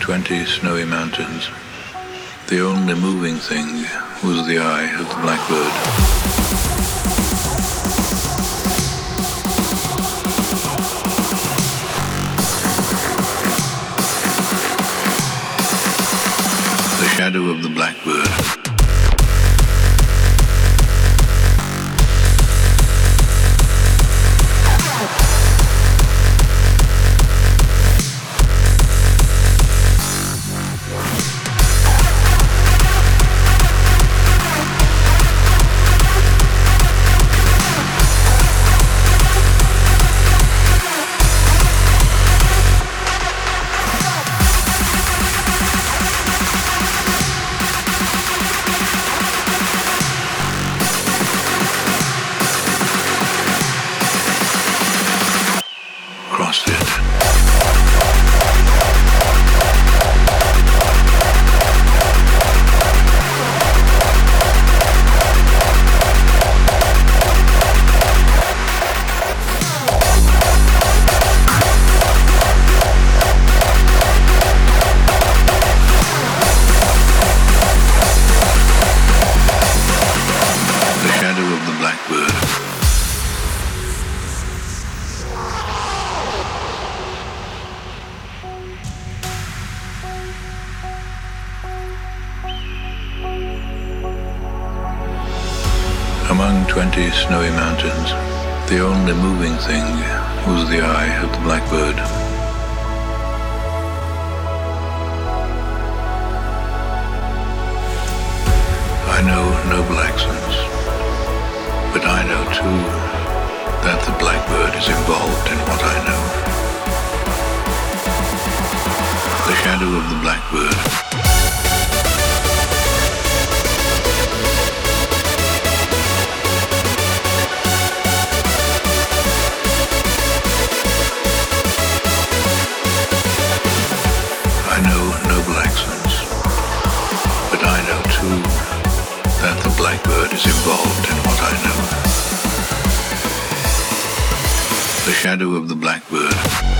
20 snowy mountains, the only moving thing was the eye of the blackbird. The shadow of the blackbird. Among 20 snowy mountains, the only moving thing was the eye of the blackbird. I know noble accents, but I know too that the blackbird is involved in what I know. The shadow of the blackbird. That the blackbird is involved in what I know. The shadow of the blackbird.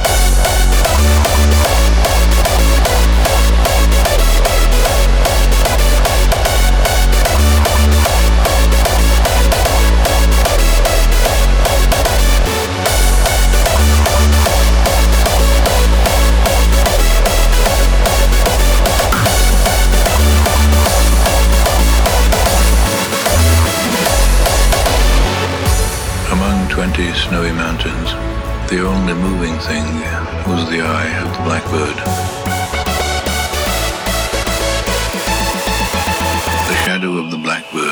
Among 20 snowy mountains, the only moving thing was the eye of the blackbird. The shadow of the blackbird.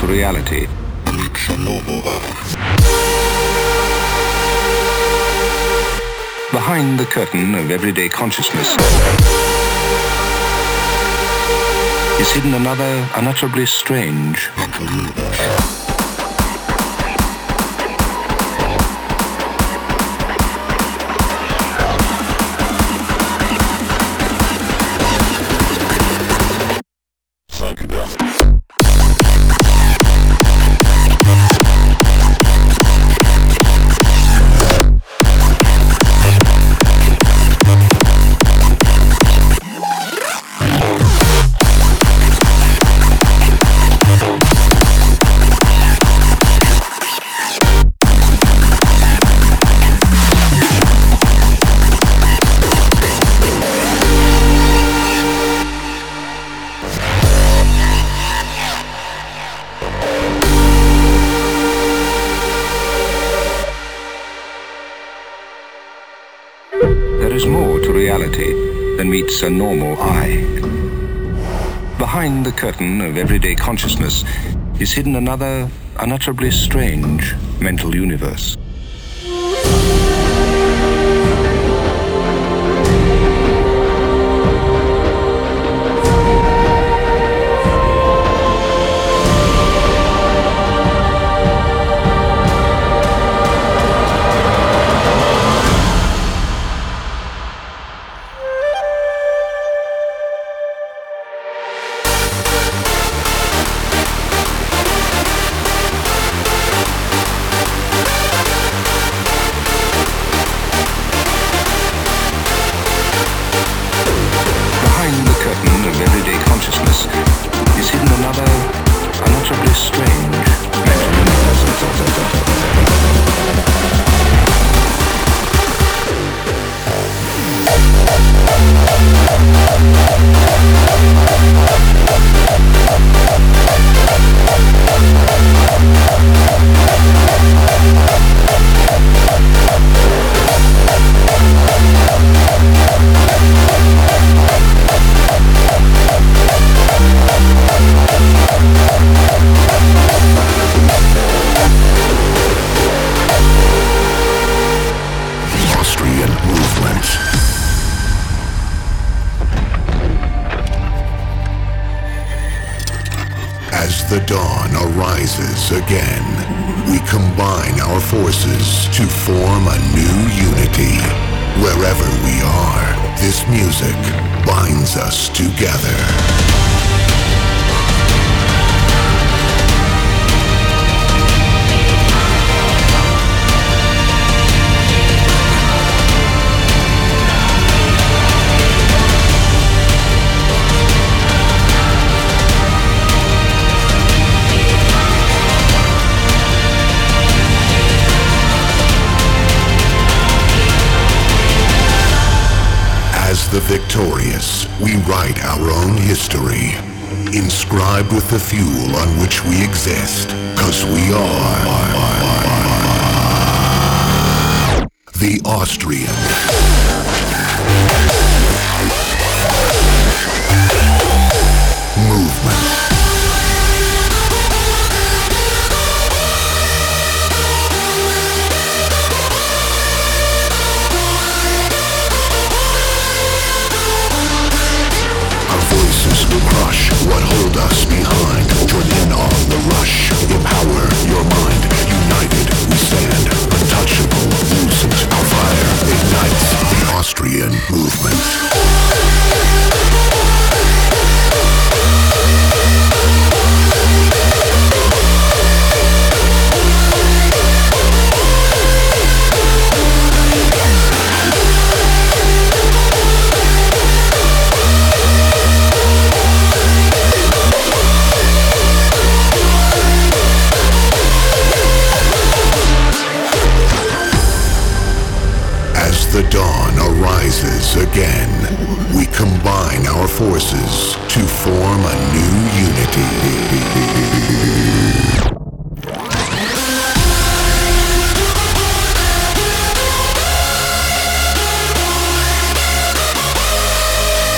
reality. Behind the curtain of everyday consciousness is hidden another unutterably strange than meets a normal eye. Behind the curtain of everyday consciousness is hidden another unutterably strange mental universe. The dawn arises again. We combine our forces to form a new unity. Wherever we are, this music binds us together. The victorious, we write our own history, inscribed with the fuel on which we exist, 'cause we are the Austrian. Movement. Crush what hold us behind. Join in on the rush. Empower your mind. United we stand. Untouchable. Loosens our fire. Ignites the Austrian movement. The dawn arises again. We combine our forces to form a new unity.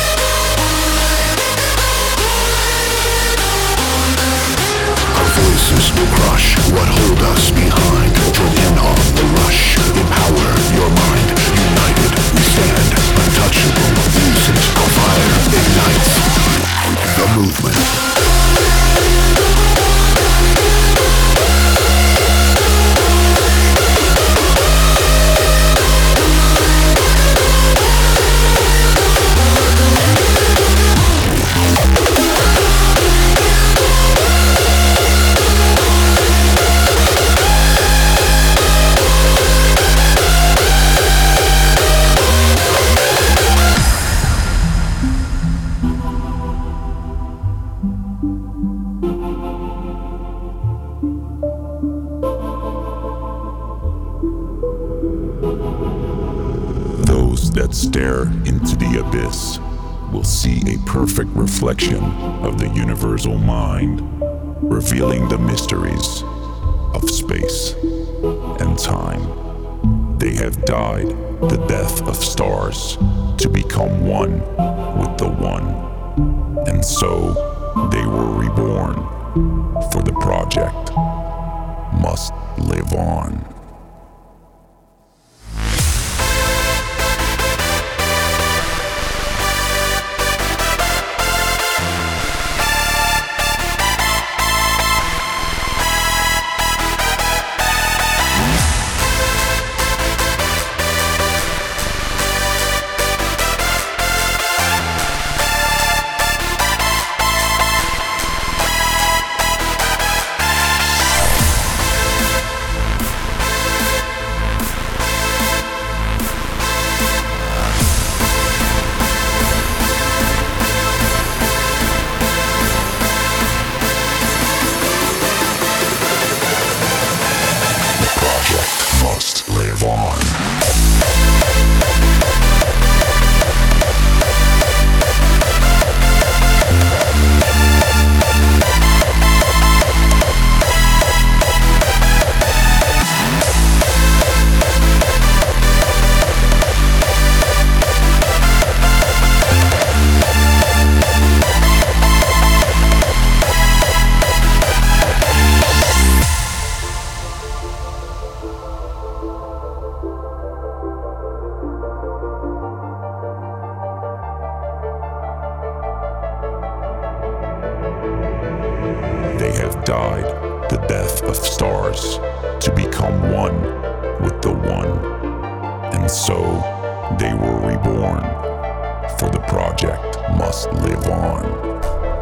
Our voices Crush what hold us behind. Join in on the rush. Empower your mind. United we stand. Untouchable. Lucent. Our fire ignites the movement. That stare into the abyss will see a perfect reflection of the universal mind, revealing the mysteries of space and time. They have died the death of stars to become one with the one, and so they were reborn, for the project must live on. Died the death of stars to become one with the one, and so they were reborn, for the project must live on.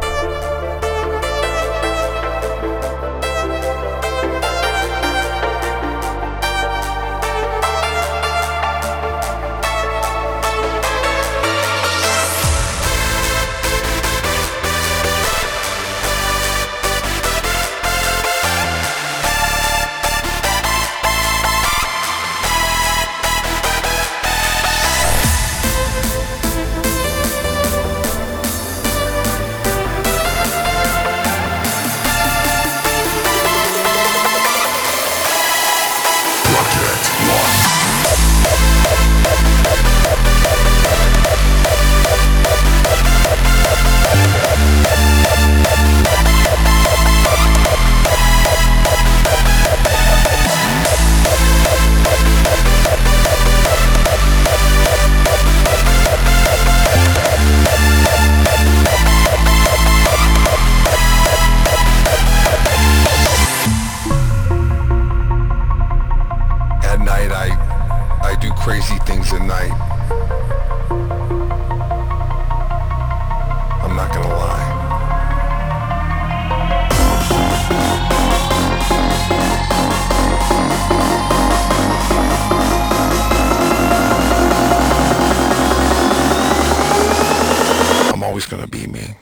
Gonna be me.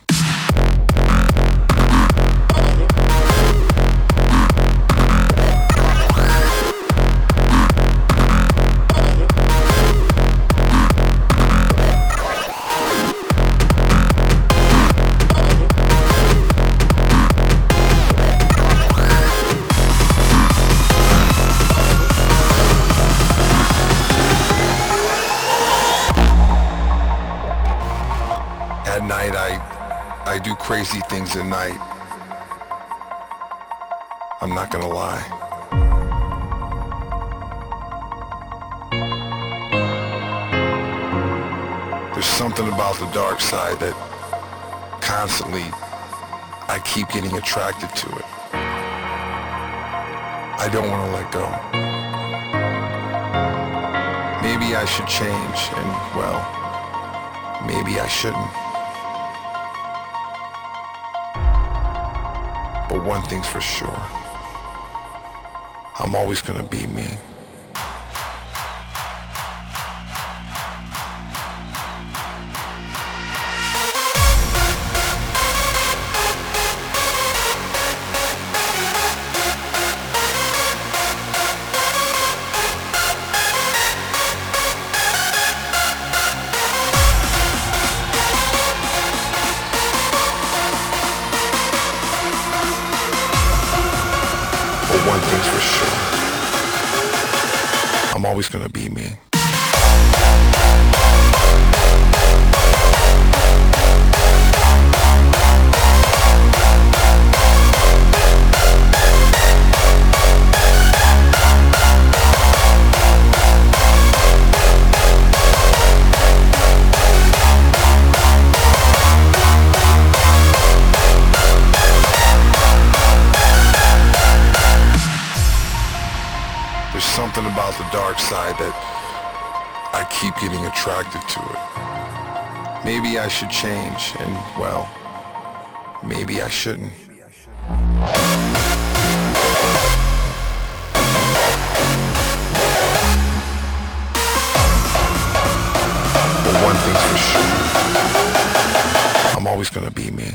At night I do crazy things at night. I'm not gonna lie. There's something about the dark side that constantly I keep getting attracted to it. I don't want to let go. Maybe I should change, and well, maybe I shouldn't. But one thing's for sure, I'm always gonna be me. One thing's for sure, I'm always gonna be me. There's something about the dark side that I keep getting attracted to it. Maybe I should change, and well, maybe I shouldn't. But one thing's for sure, I'm always gonna be me.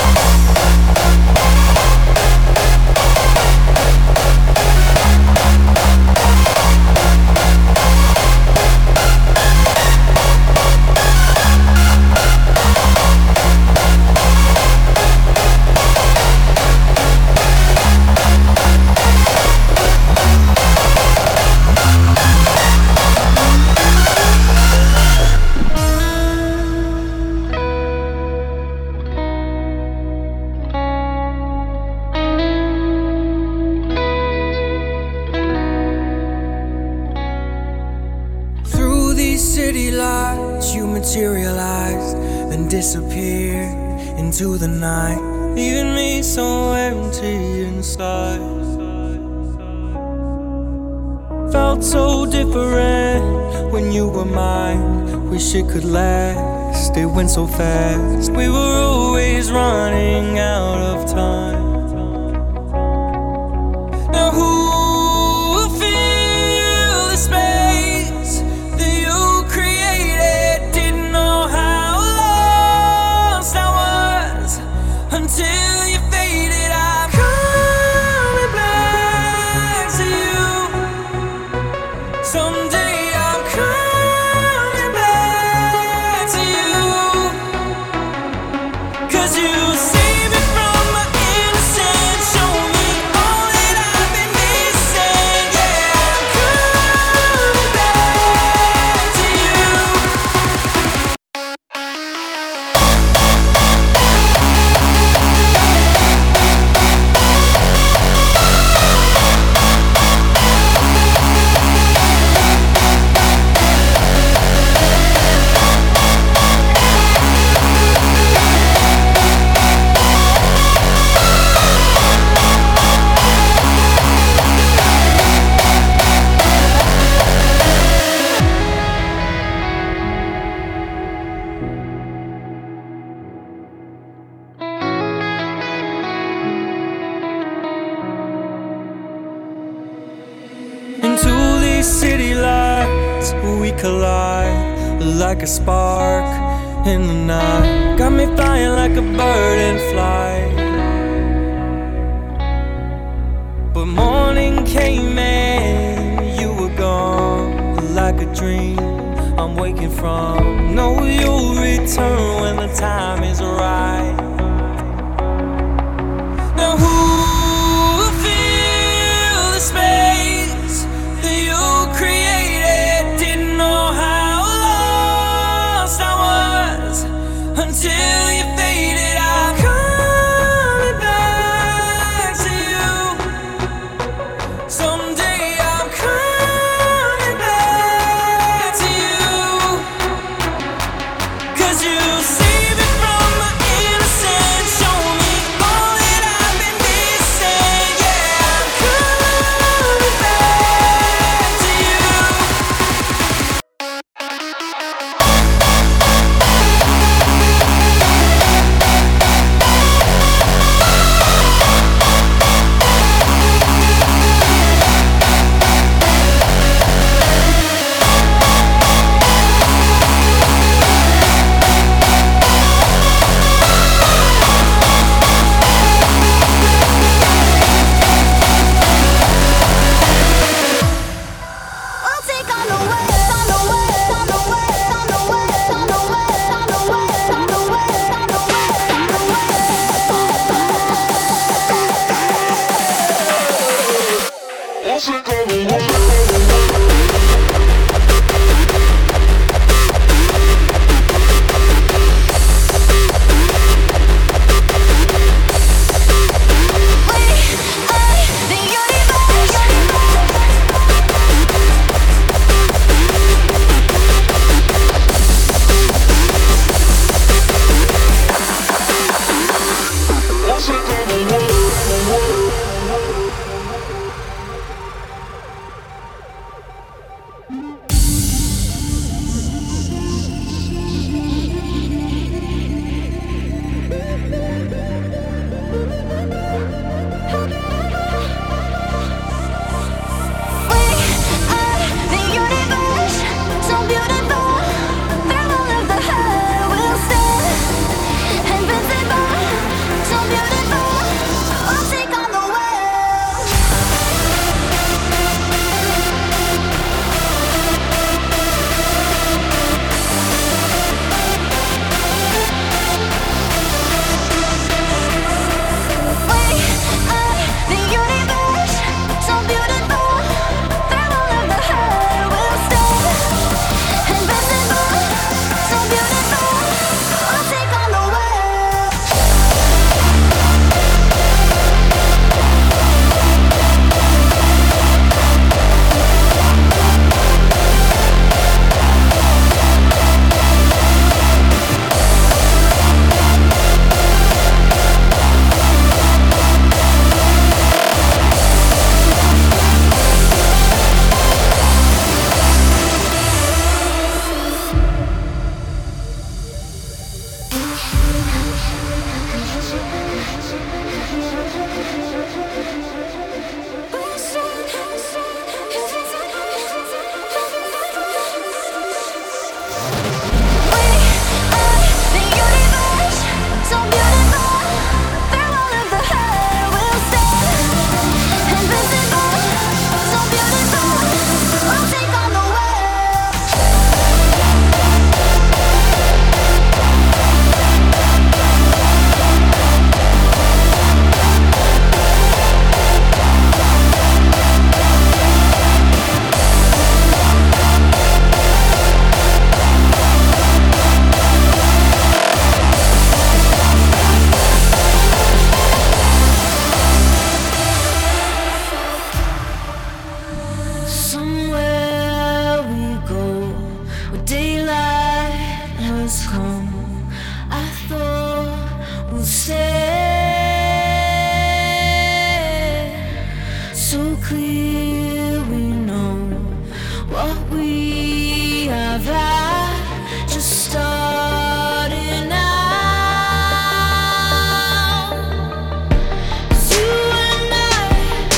City lights, you materialized, then disappeared into the night, leaving me so empty inside. Felt so different when you were mine. Wish it could last, it went so fast. We were always running out of time. Now who will fill the space that you created? Didn't know how lost I was until you faded. I'm coming back to you. Someday I'm coming back to you. 'Cause you saved me from my innocence, show me all that I've been missing. Yeah, I'm coming back to you. Into these city lights we collide, like a spark in the night. Got me flying like a bird in flight. But morning came and you were gone, like a dream I'm waking from. Know you'll return when the time is right. Now who will fill the space that you created? Didn't know how lost I was until you faded. I'm coming back to you. So clear we know what we have had, just starting out. 'Cause you and I,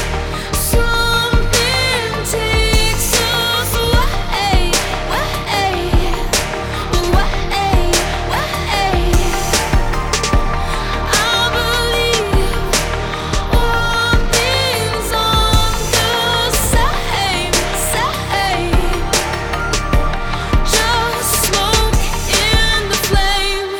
something takes us away, way, way, way. I believe one thing's on the same, just smoke in the flame.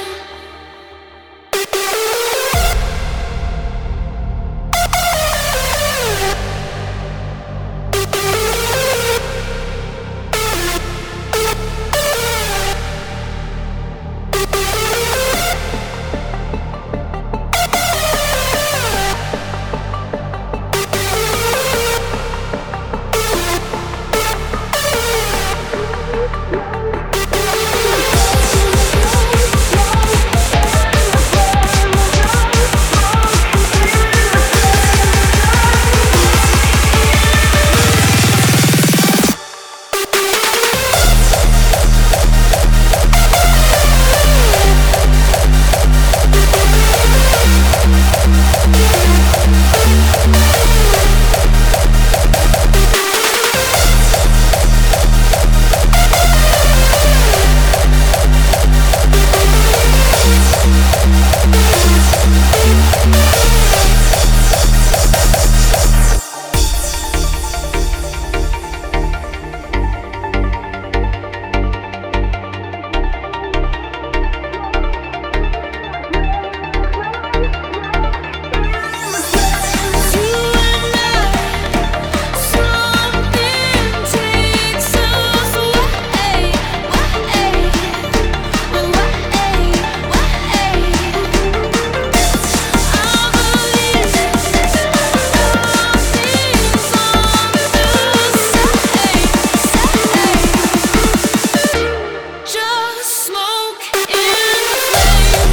Just smoke in the flame.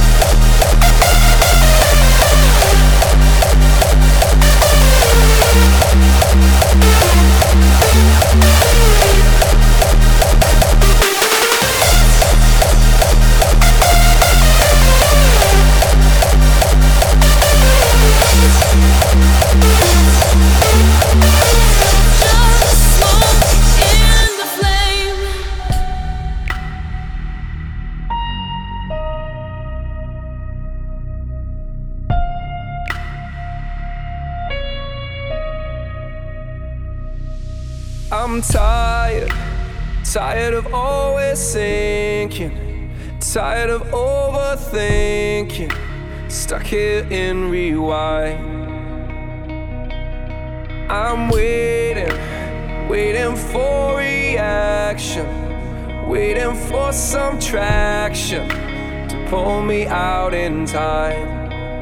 Just smoke in the flame. I'm tired, tired of always sinking, tired of overthinking, stuck here in rewind. I'm waiting, waiting for reaction, waiting for some traction to pull me out in time.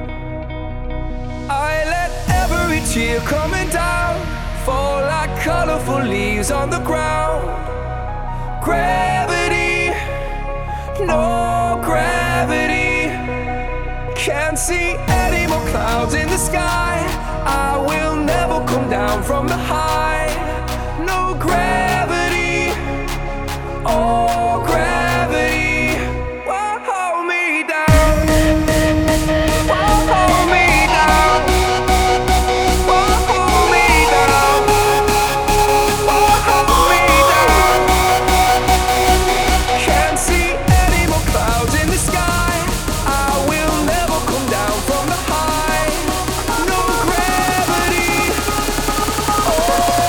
I let every tear coming down fall like colorful leaves on the ground. Gravity, no gravity. Can't see any more clouds in the sky. I will never come down from the high. No gravity, oh gravity, won't hold me down. Won't hold me down. Won't hold me down. Won't hold me down. Can't see any more clouds in the sky. I will never come down from the high. No gravity. Oh.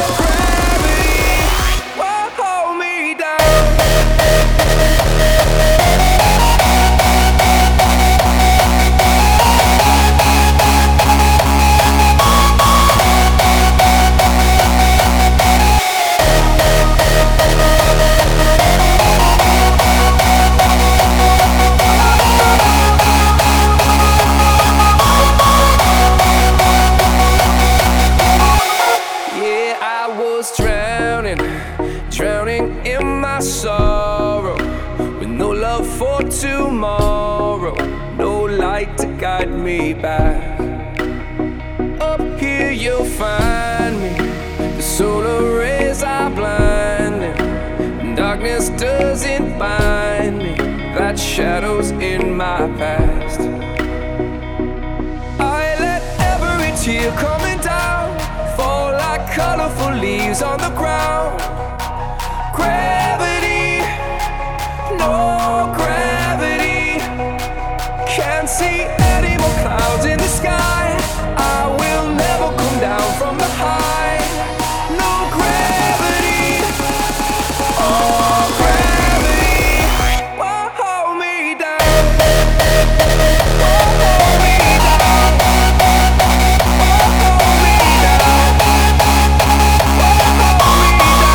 light to guide me back. Up here you'll find me. The solar rays are blinding. Darkness doesn't bind me. That shadow's in my past. I let every tear coming down fall like colorful leaves on the ground. Gravity, no gravity. Can't see any more clouds in the sky. I will never come down from the high. No gravity, oh gravity, won't hold me down. Won't hold me down. Won't hold me down. Won't hold me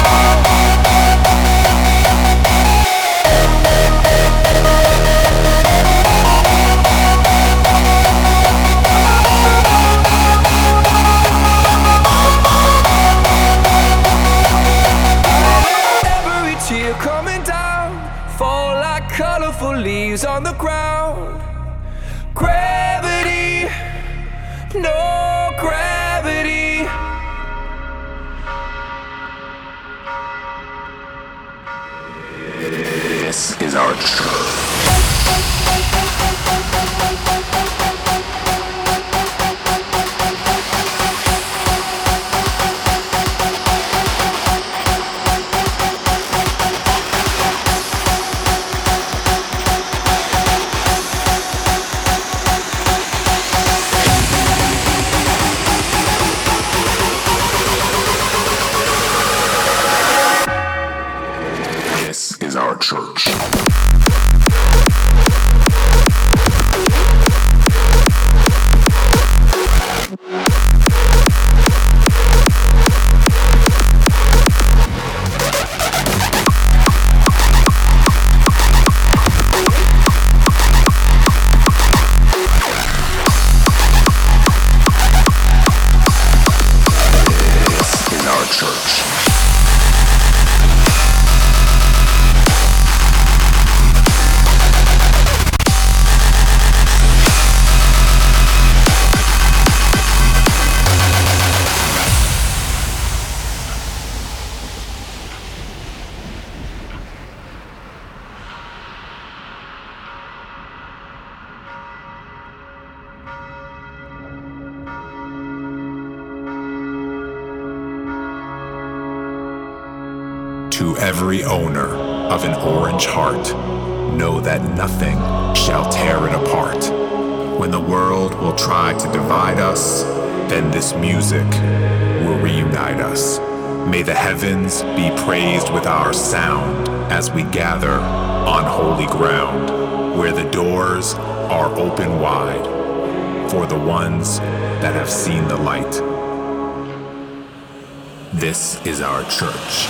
coming down, fall like colorful leaves on the ground. Gravity, no gravity. This is our church. This is our church. To every owner of an orange heart, know that nothing shall tear it apart. When the world will try to divide us, then this music will reunite us. May the heavens be praised with our sound as we gather on holy ground, where the doors are open wide for the ones that have seen the light. This is our church.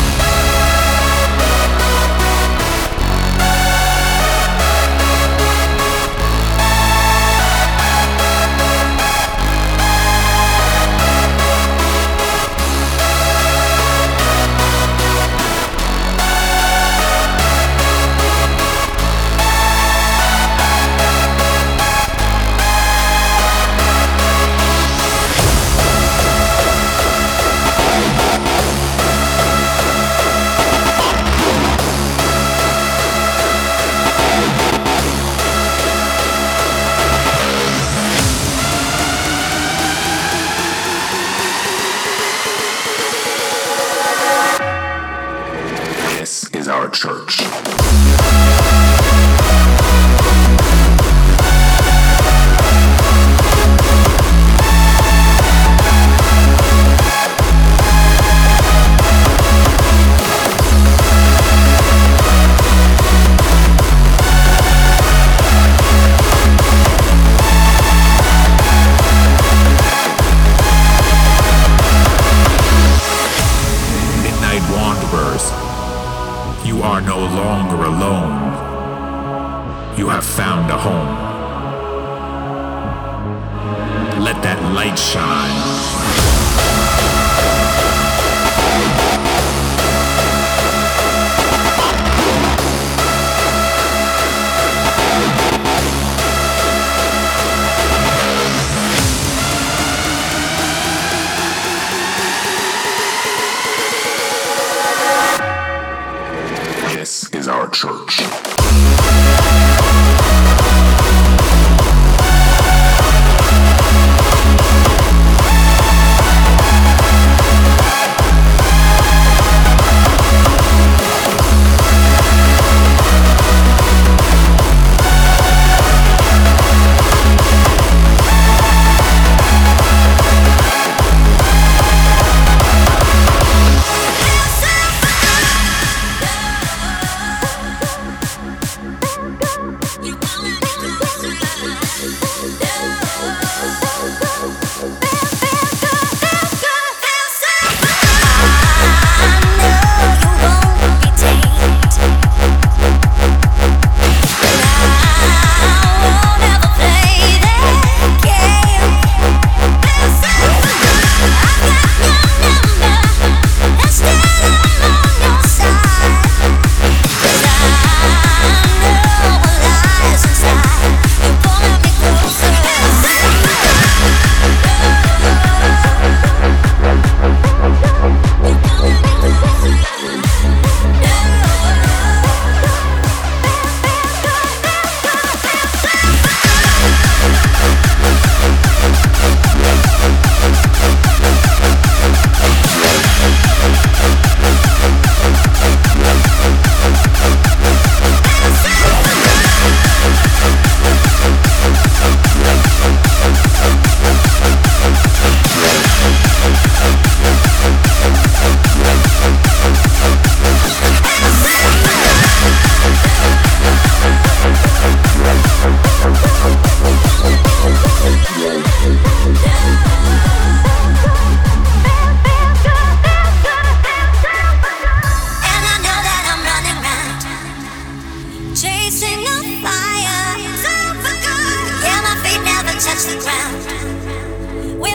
This is our church. Midnight wanderers, you are no longer alone. You have found a home. Let that light shine.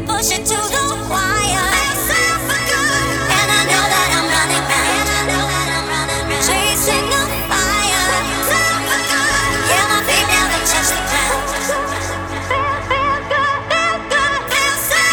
push it to the wire. And I know that I'm running mad, chasing the fire. Yeah, my feet never touch the ground. Feel good, feel so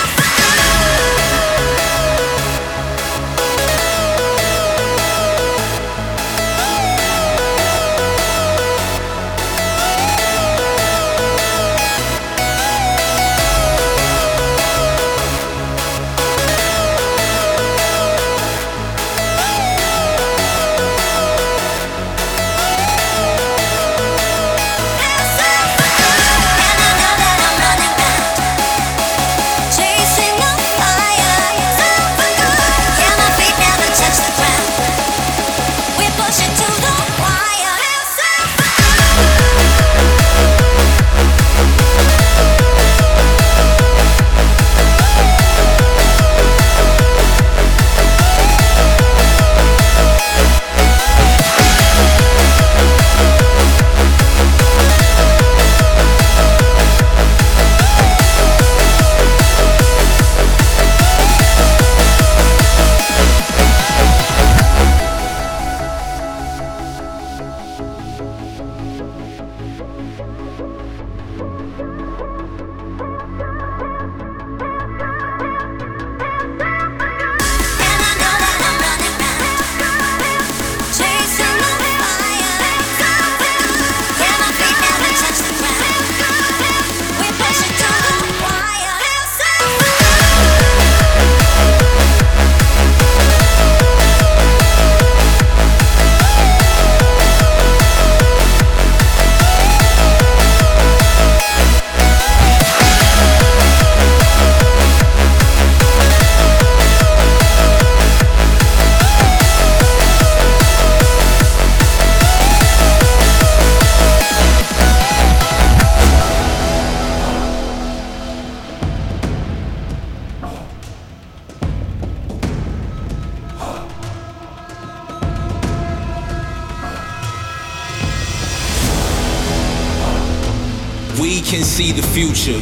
We can see the future,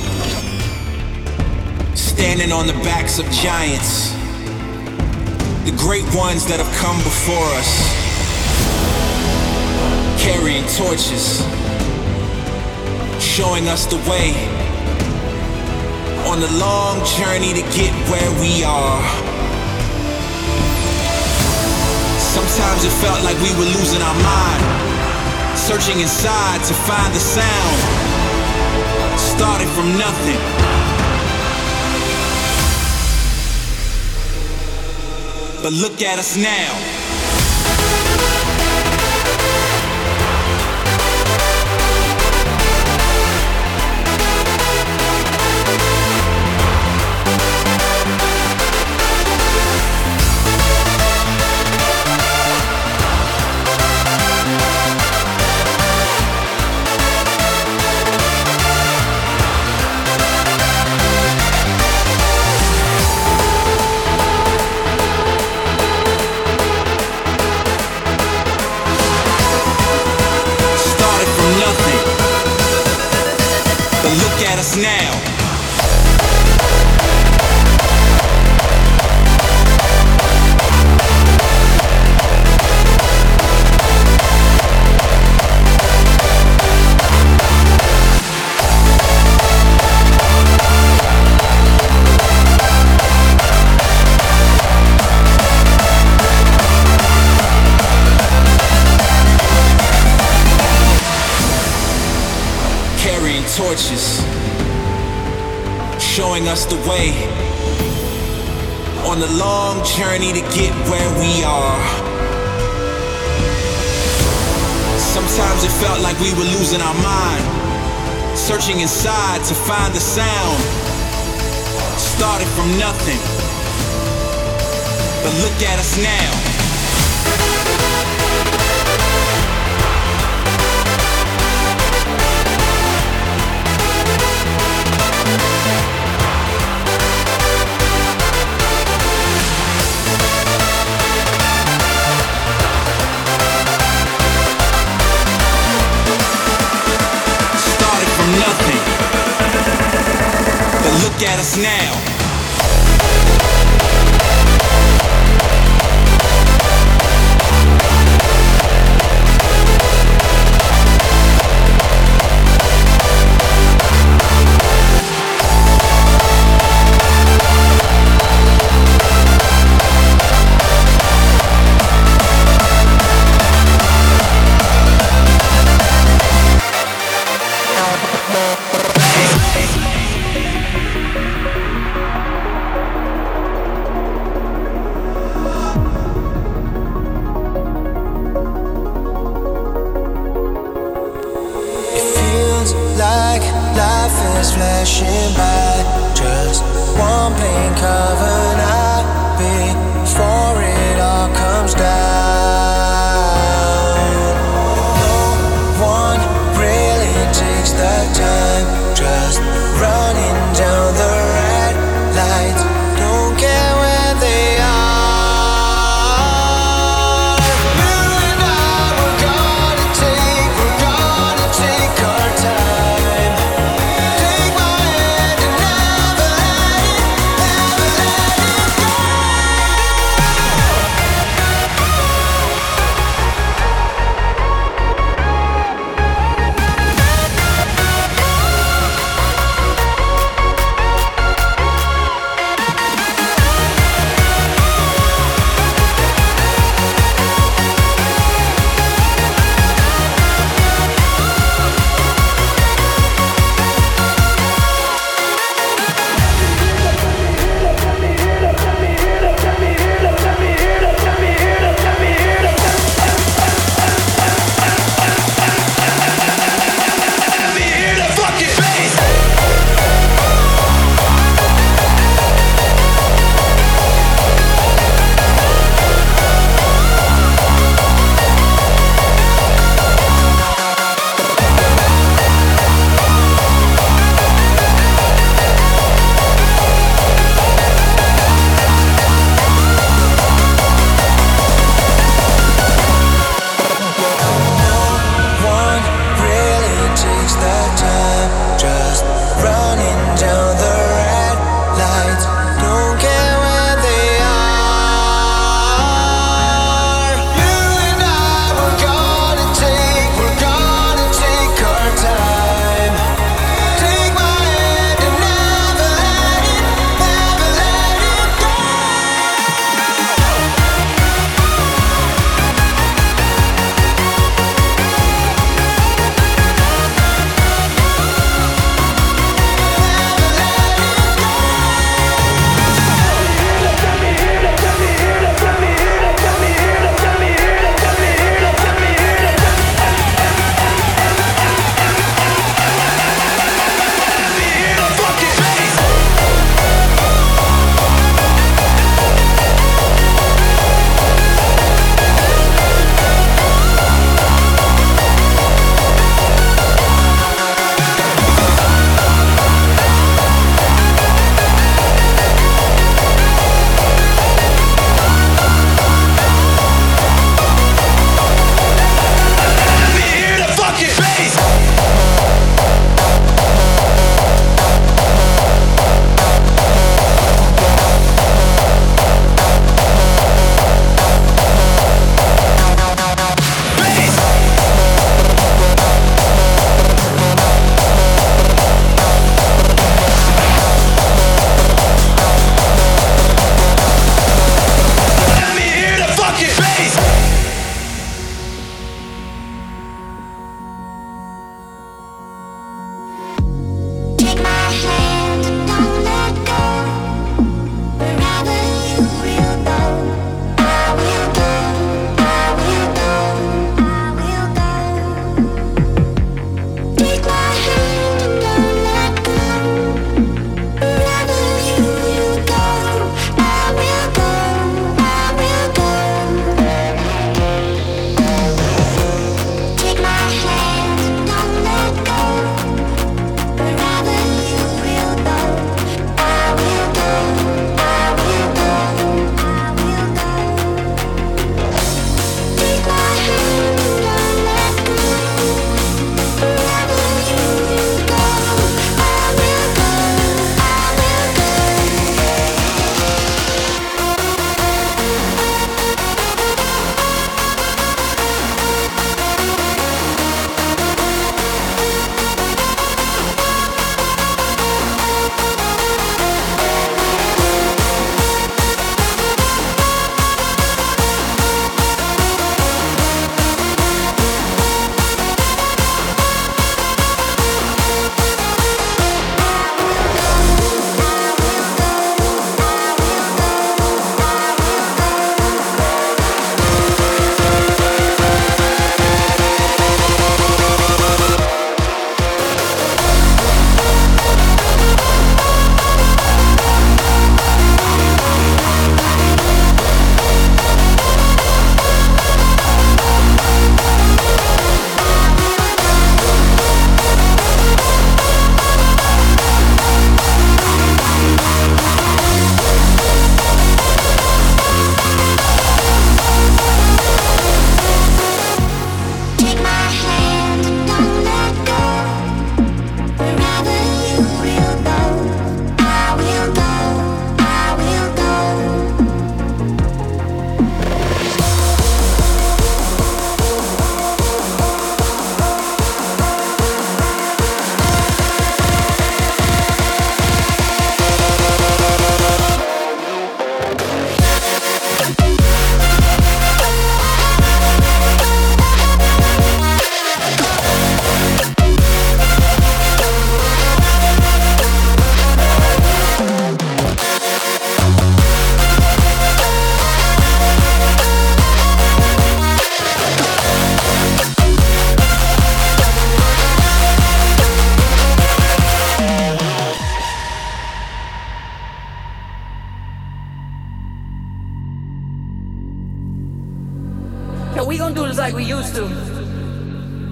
standing on the backs of giants, the great ones that have come before us, carrying torches, showing us the way on the long journey to get where we are. Sometimes it felt like we were losing our mind, searching inside to find the sound. Started from nothing. But look at us now. Look at us now. Carrying torches, showing us the way on the long journey to get where we are. Sometimes it felt like we were losing our mind, searching inside to find the sound. Started from nothing, but look at us now. Look at at us now. Flashing by, just one blink of an eye before it all comes down. No one really takes the time, just running down the red lights, don't care where they are. You and I, we're gonna take our time.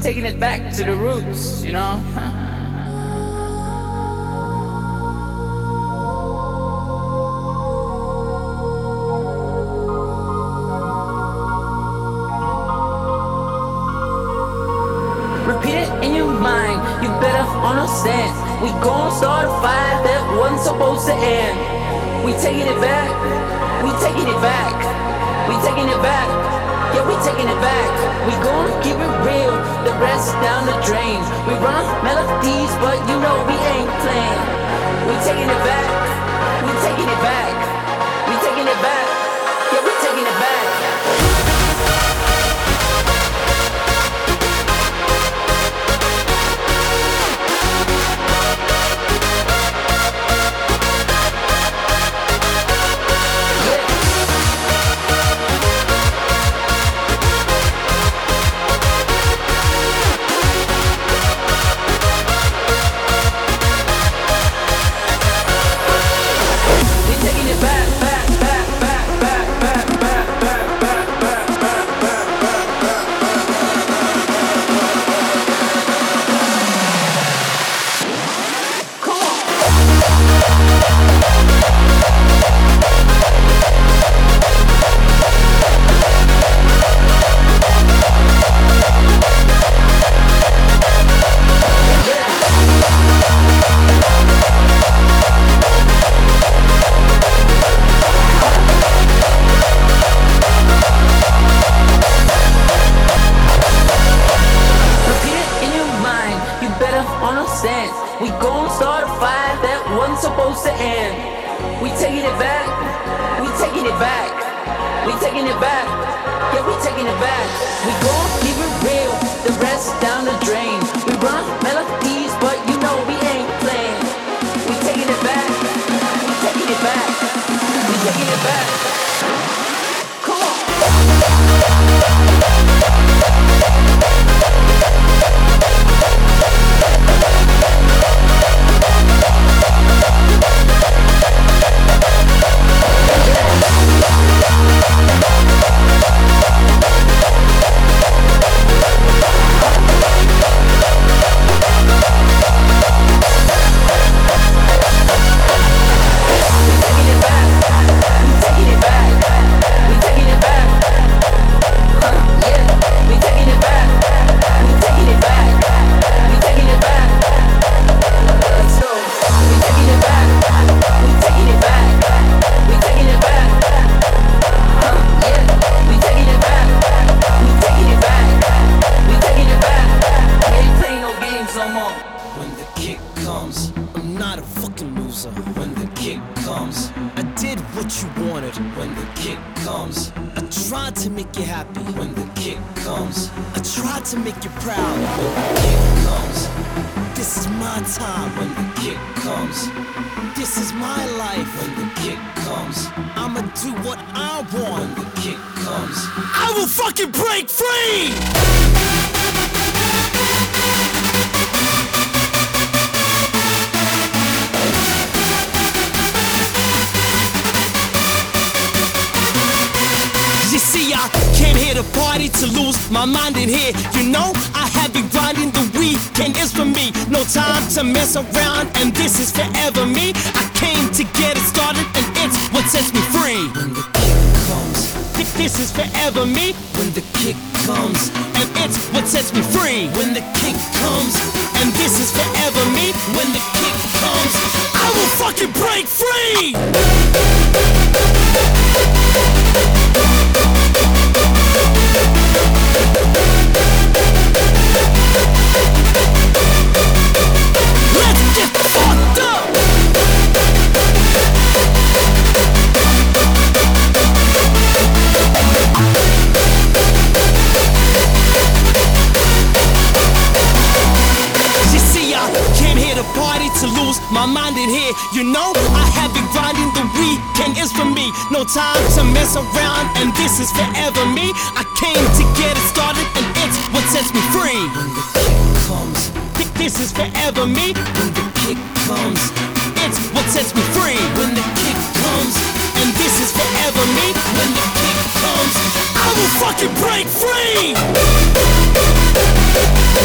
taking it back to the roots, you know? Repeat it in your mind, you better understand. We gon' start a fire that wasn't supposed to end. We taking it back, we taking it back, we taking it back, yeah, we taking it back. We gon' keep it real, the rest down the drain. We run melodies, but you know we ain't playing. We taking it back, we taking it back, we taking it back, yeah, we taking it back. We gon' start a fire that wasn't supposed to end. We taking it back, we taking it back, we taking it back, yeah, we taking it back. We gon' keep it real, the rest down the drain. We run melodies, but you know we ain't playing. We taking it back, we taking it back, we taking it back. Come on. Break free! You see, I came here to party, to lose my mind in here. You know, I have been grinding, the weekend is for me. No time to mess around, and this is forever me. I came to get it started, and it's what sets me free. When the kick comes, this is forever me. When the kick comes, and it's what sets me free. When the kick comes, and this is forever me. When the kick comes, I will fucking break free. Let's get fucked up. You see, I came here to party, to lose my mind in here. You know, I have been grinding, the weekend is for me. No time to mess around, and this is forever me. I came to get it started, and it's what sets me free. When the kick comes, this is forever me. When the kick comes, it's what sets me free. When the kick comes, and this is forever me. When the kick comes, I will fucking break free.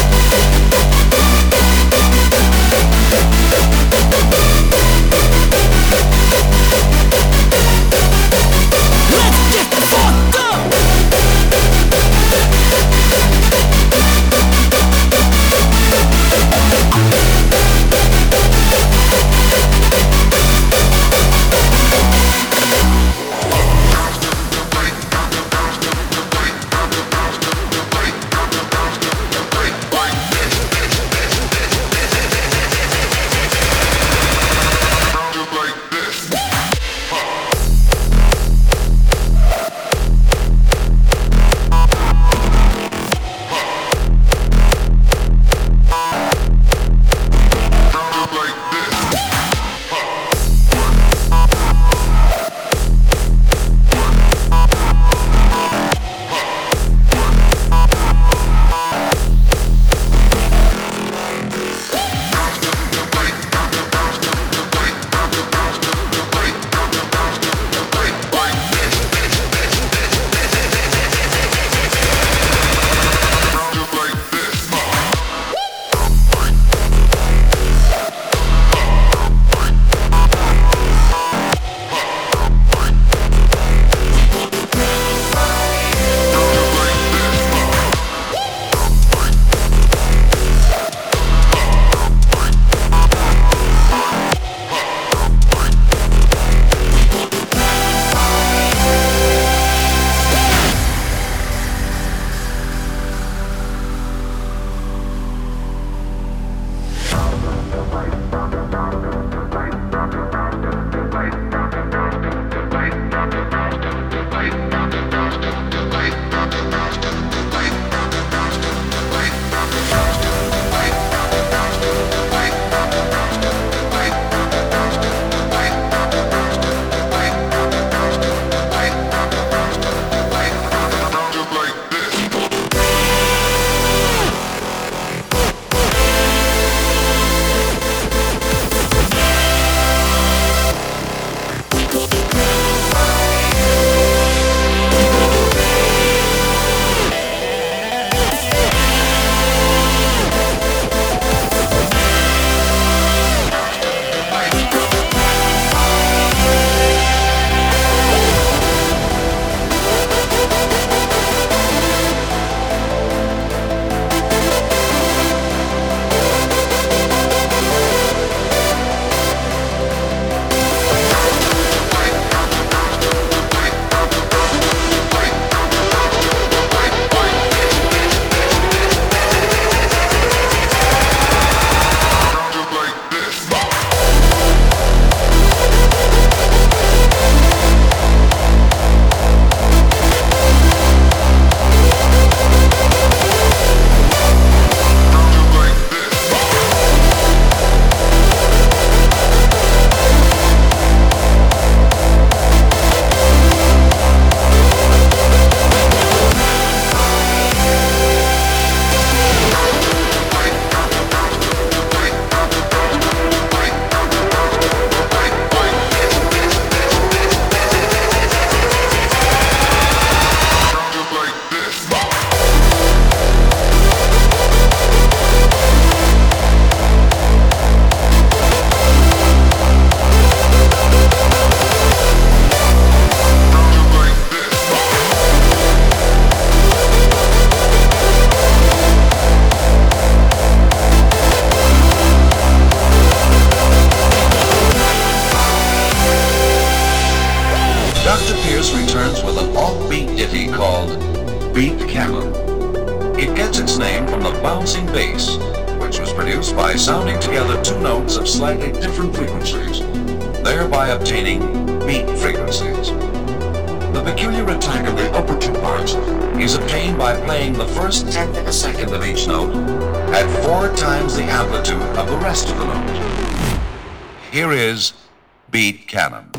Pierce returns with an offbeat ditty called Beat Cannon. It gets its name from the bouncing bass, which was produced by sounding together two notes of slightly different frequencies, thereby obtaining beat frequencies. The peculiar attack of the upper two parts is obtained by playing the first tenth of a second of each note at 4 times the amplitude of the rest of the note. Here is Beat Cannon.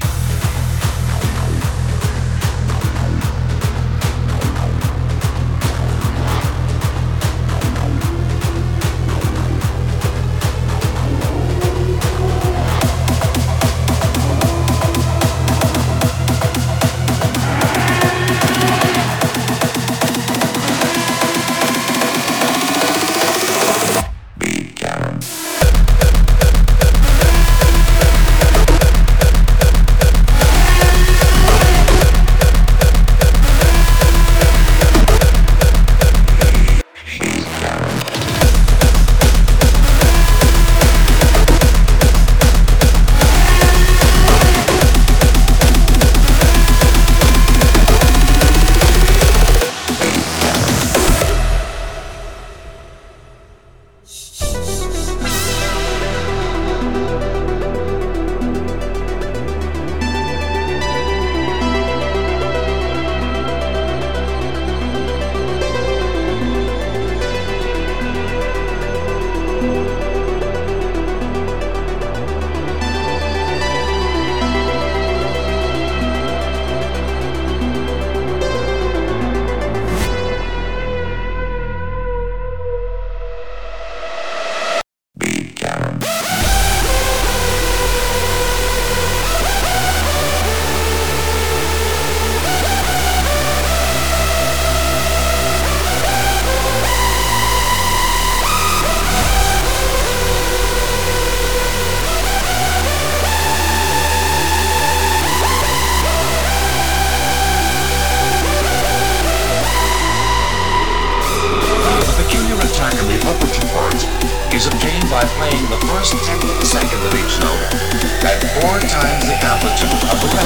Is obtained by playing the first tenth of a second of each note at 4 times the amplitude of the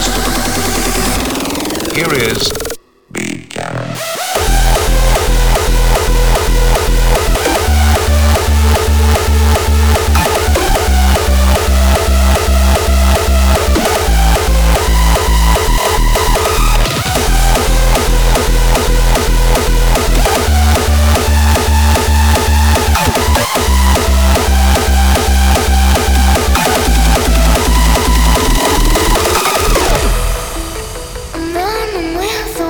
rest of the note. Here is Beat Cannon. With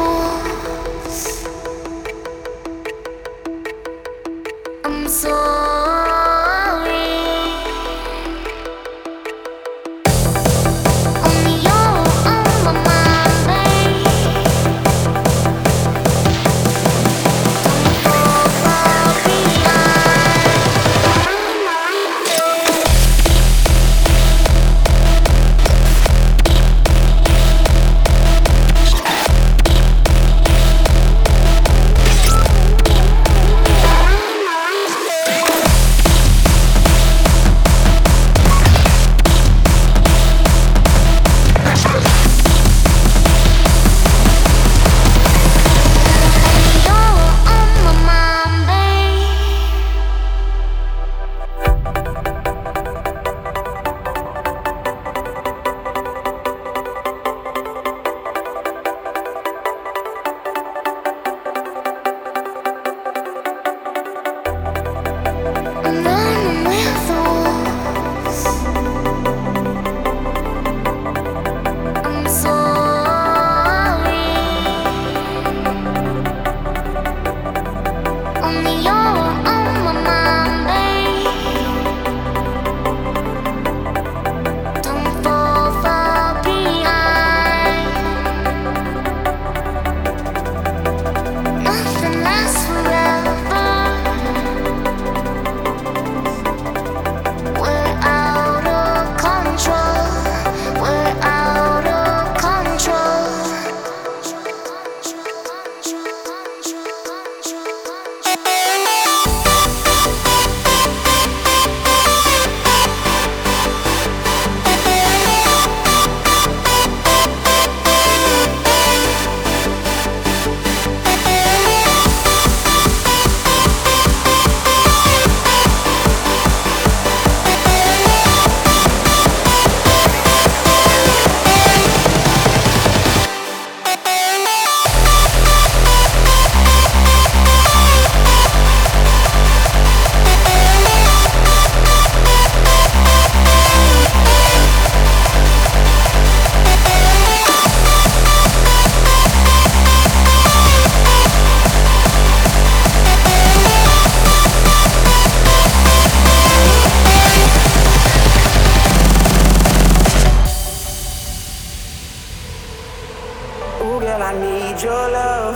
need your love.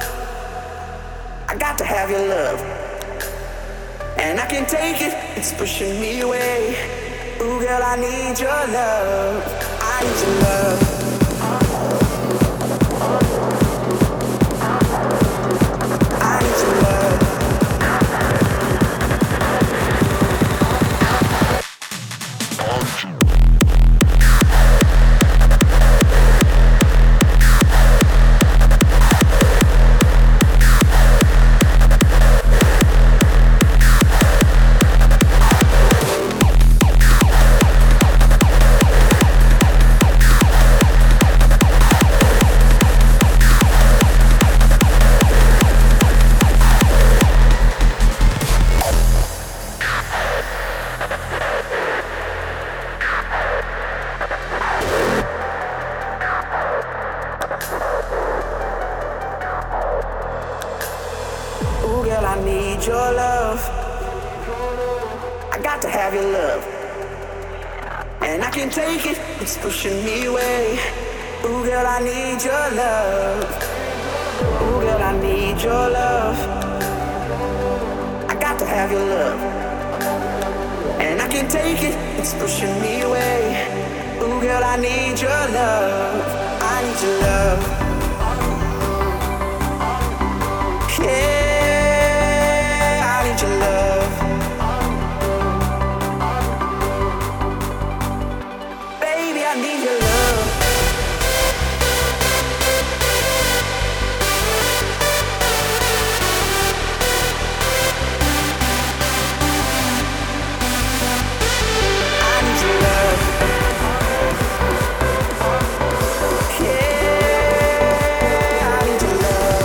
I got to have your love. And I can't take it, it's pushing me away. Ooh, girl, I need your love. I need your love. I need your love. Pushing me away. Ooh, girl, I need your love. Ooh, girl, I need your love. I got to have your love. And I can't take it, it's pushing me away. Ooh, girl, I need your love. I need your love. Yeah, I need your love. I need your love. I need your love. Yeah, I need your love.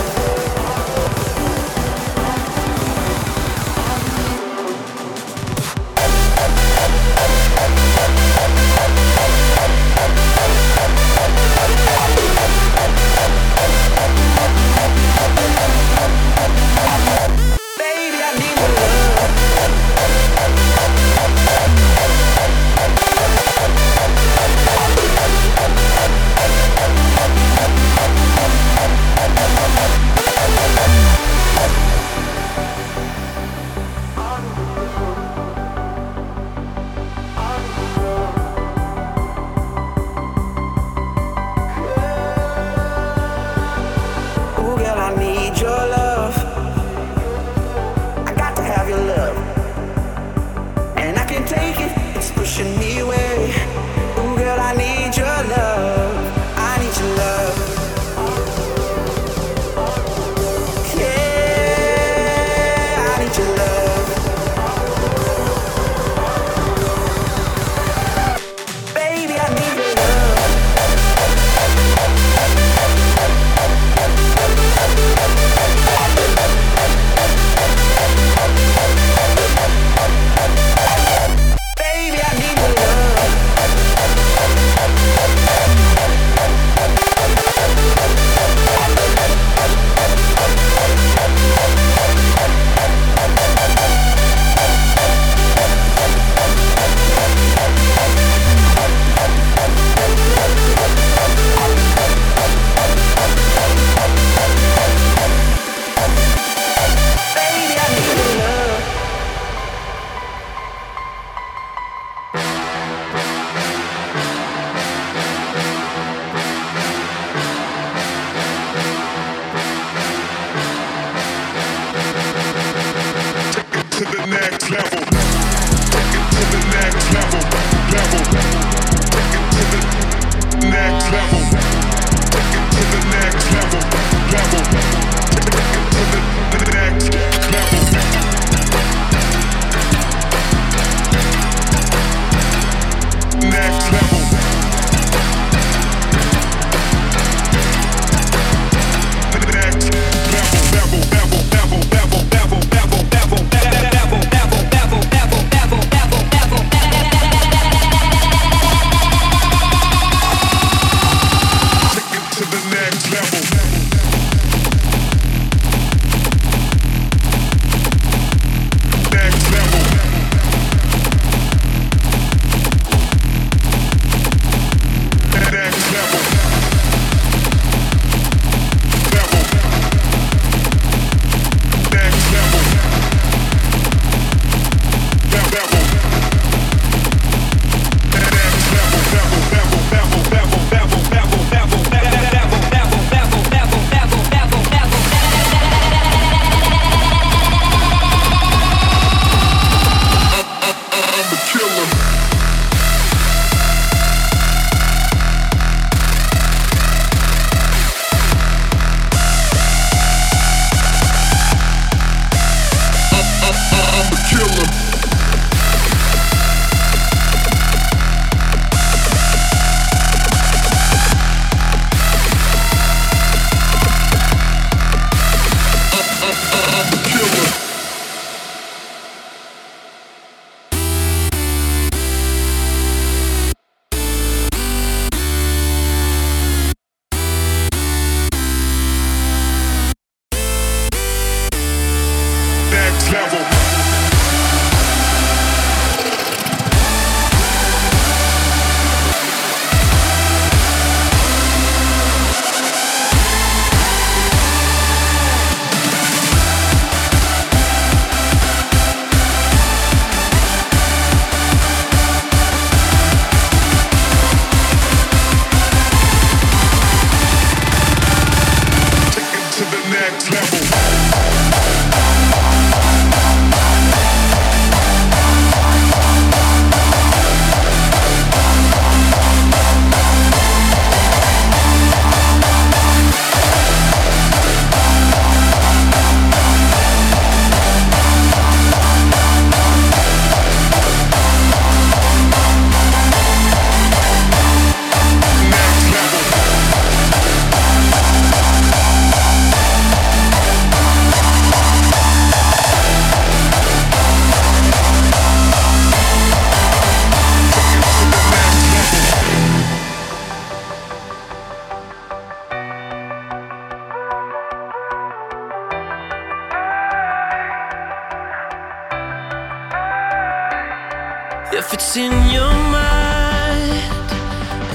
Baby, I need your love. Ooh, girl, I need your love. I got to have your love. And I can't take it, it's pushing me away. Ooh, girl, I need your love. I need your love. Yeah, I need your love. Baby, I need your love.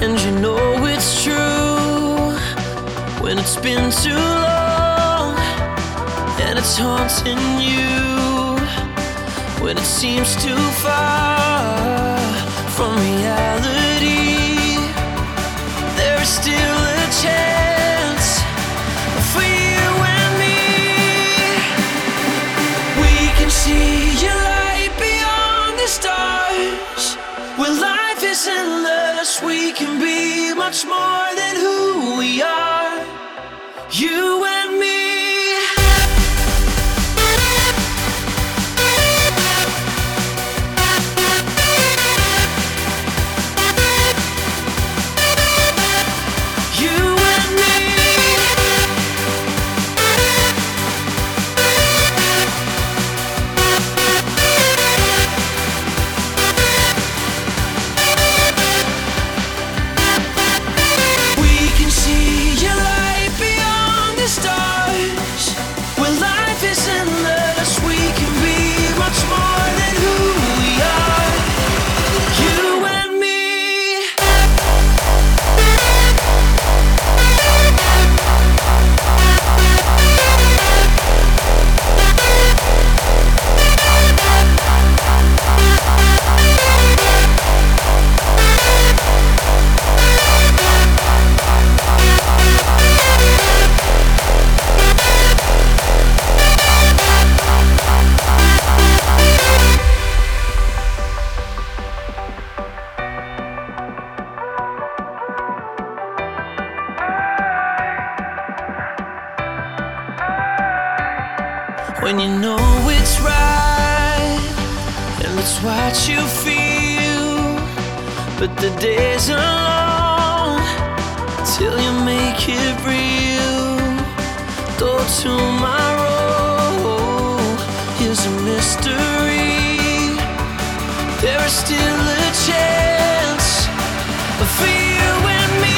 And you know it's true when it's been too long, and it's haunting you when it seems too far from reality. There's still a chance for you and me. We can see your light beyond the stars. Where life is endless, we can be much more than who we are. You and me. When you know it's right and it's what you feel, but the days are long till you make it real. Though tomorrow is a mystery, there is still a chance for you and me.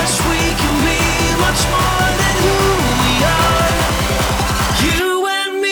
More than who we are, you and me.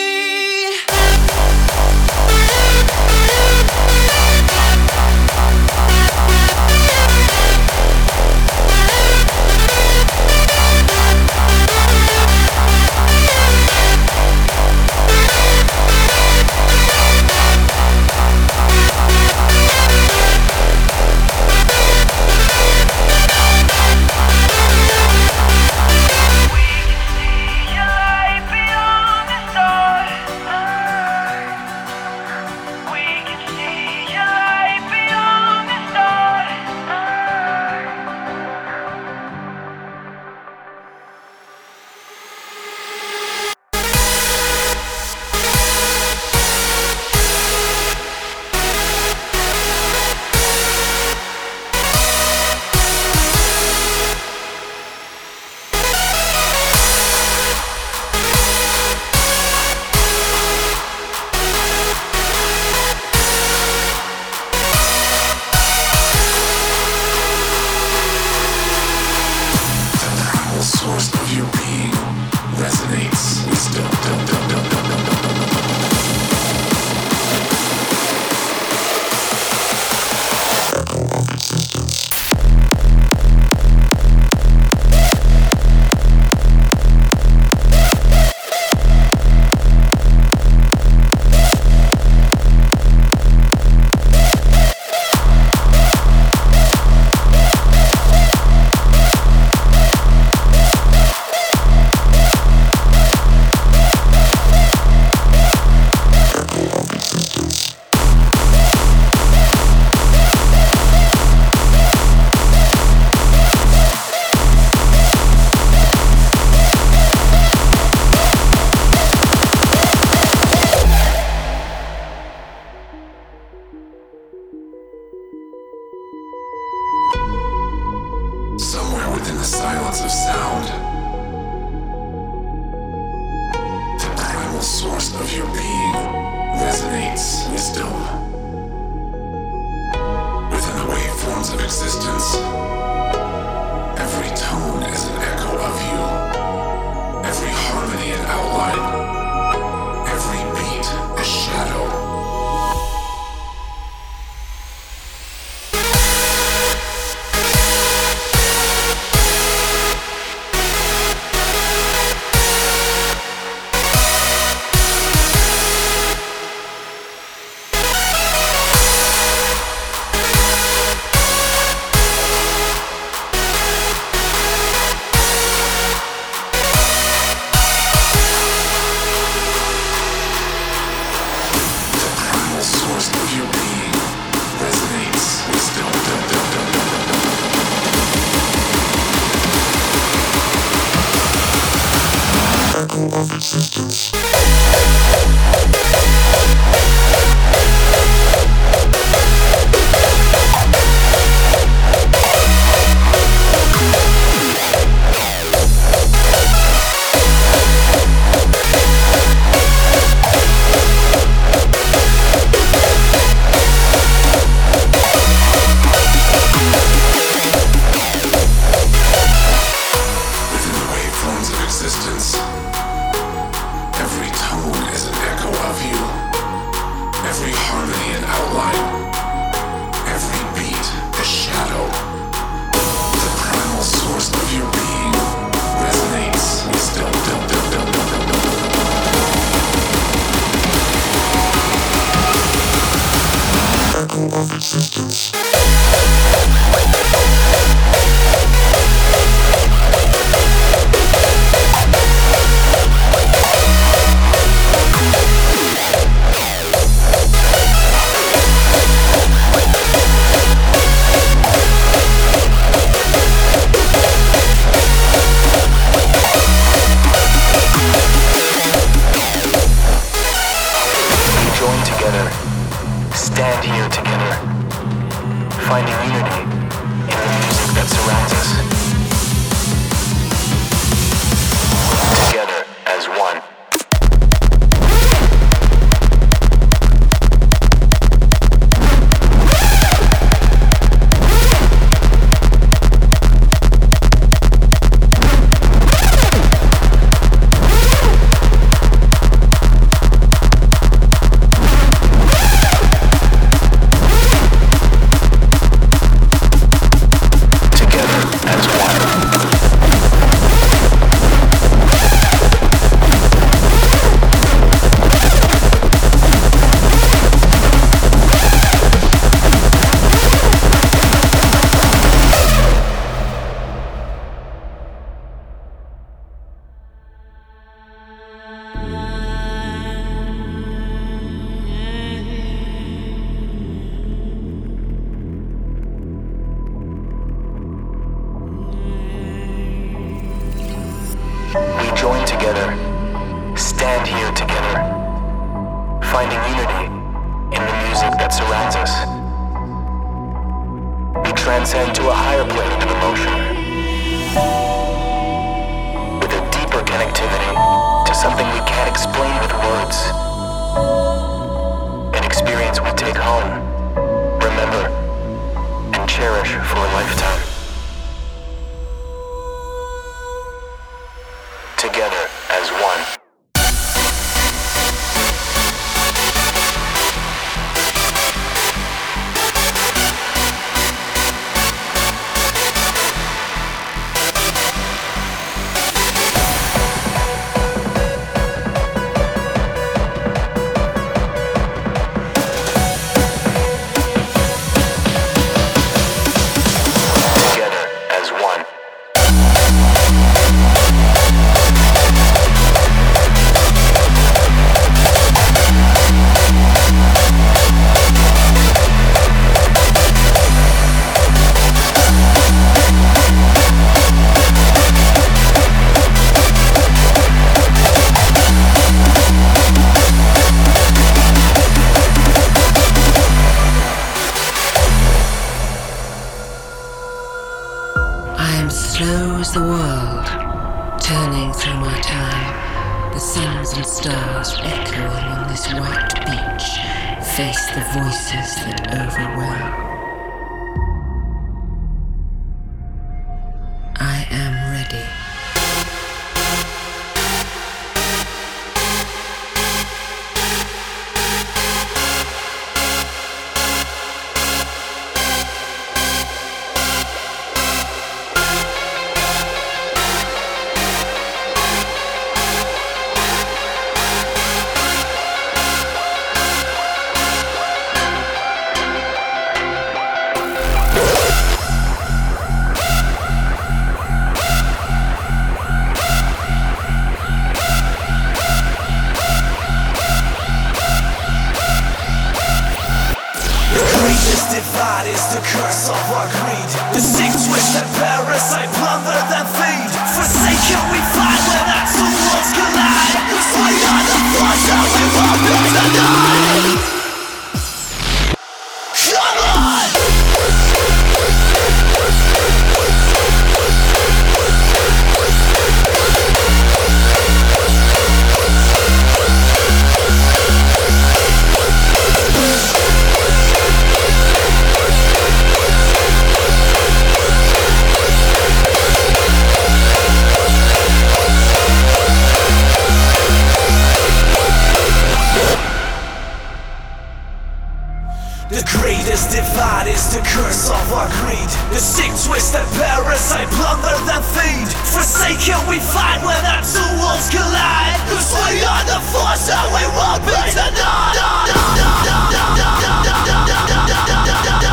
We won't be denied.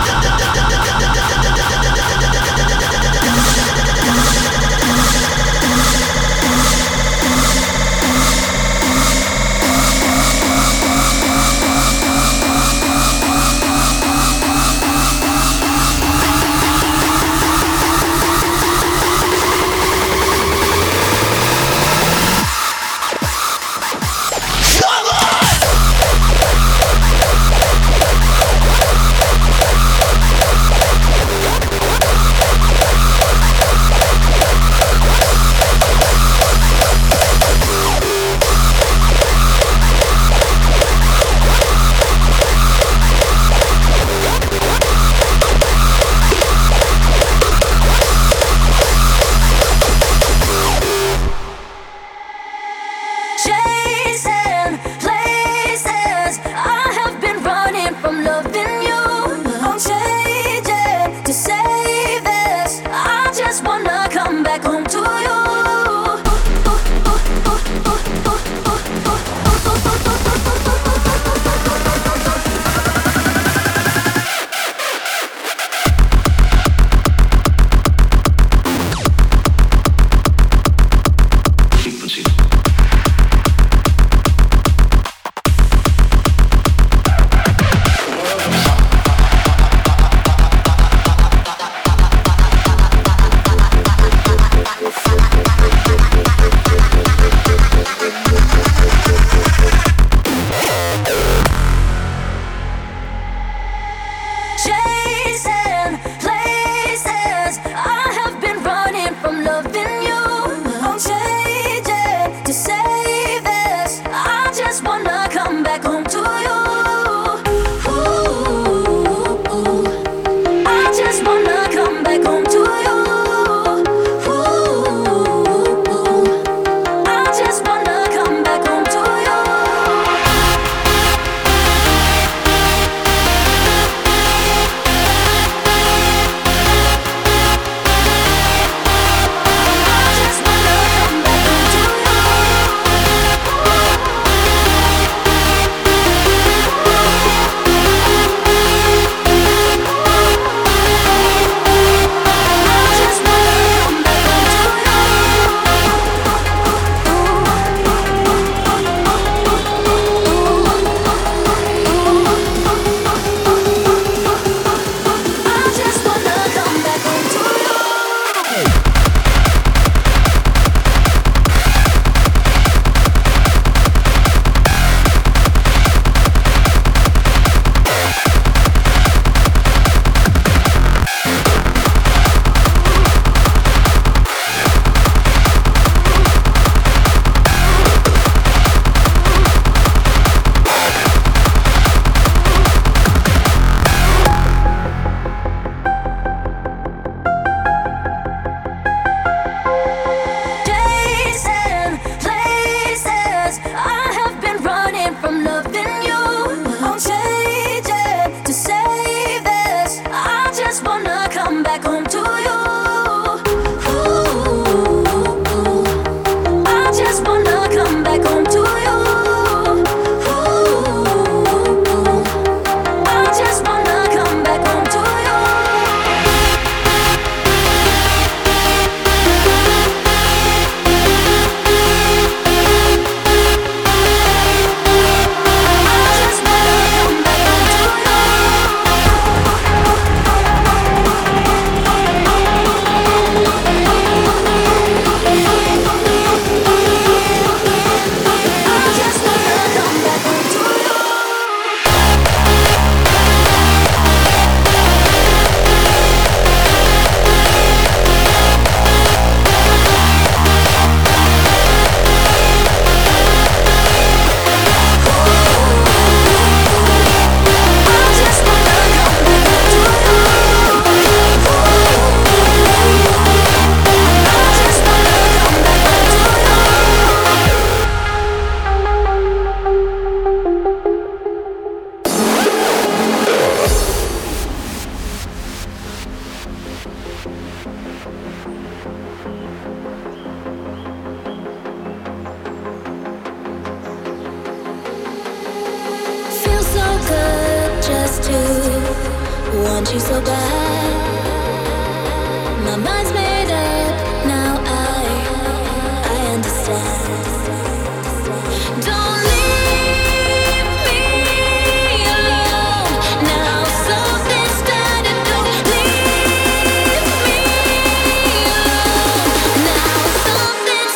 back home to you. Ooh, I just wanna come back home to you. Ooh, I just wanna come back home to you. Want you so bad. My mind's made up. Now I understand. Don't leave me alone. Now something started. Don't leave me alone. Now something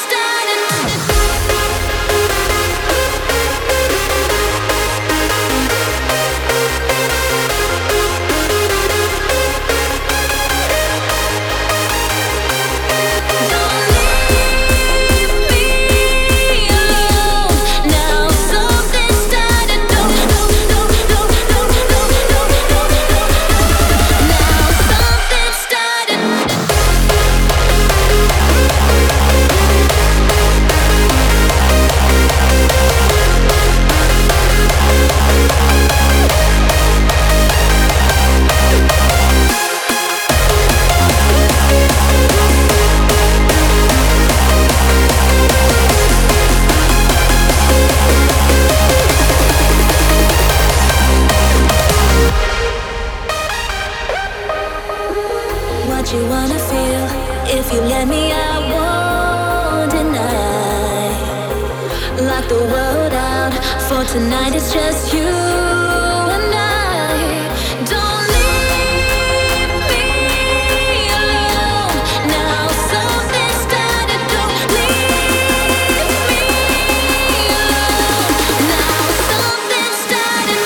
what you wanna feel. If you let me, I won't deny. Lock the world out. For tonight it's just you and I. Don't leave me alone. Now something started. Don't leave me alone. Now something started.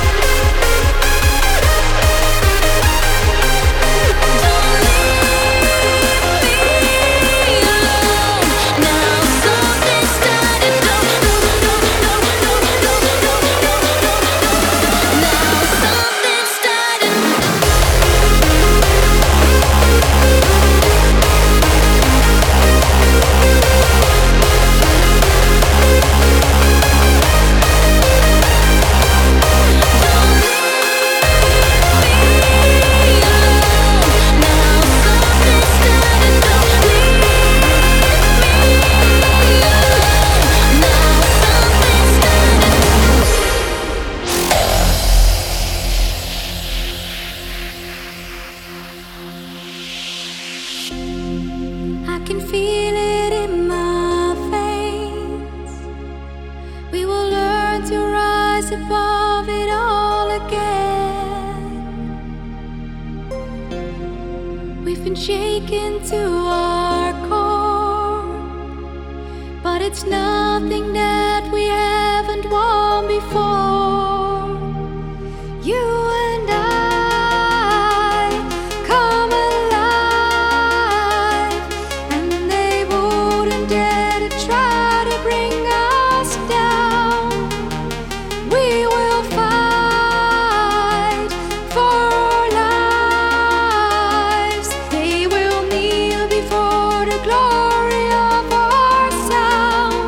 Don't leave can feel it in my veins. We will learn to rise above it all again. We've been shaken to our core, but it's nothing that we haven't won before. You and I come alive, and they wouldn't dare to try to bring us down. We will fight for our lives. They will kneel before the glory of our sound.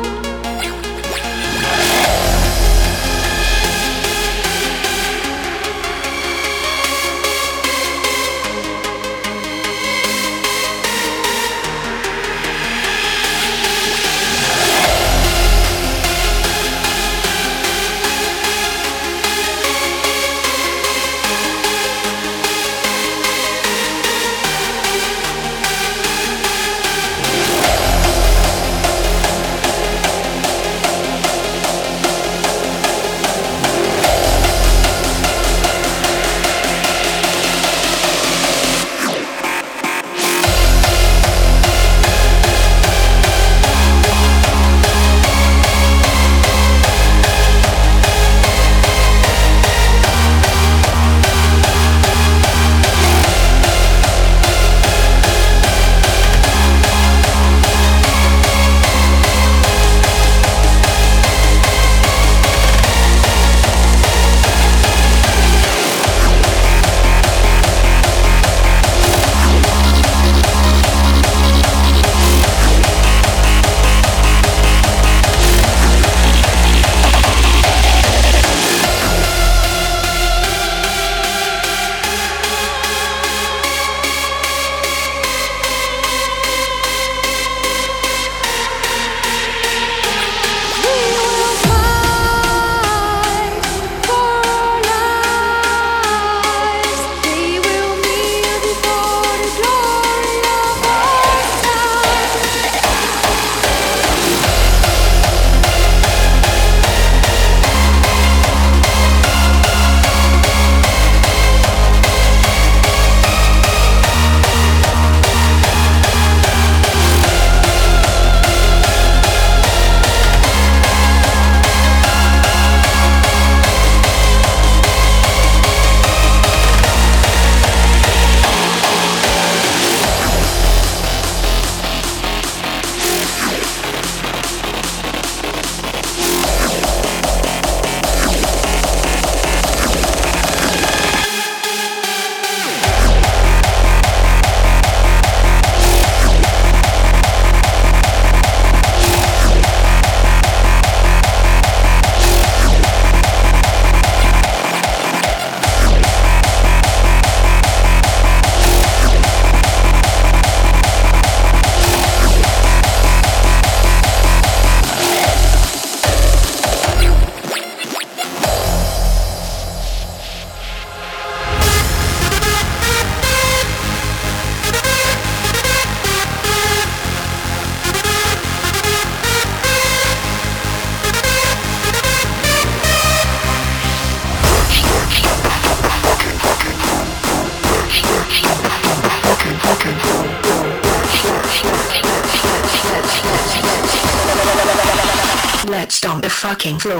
Let's stomp the fucking floor.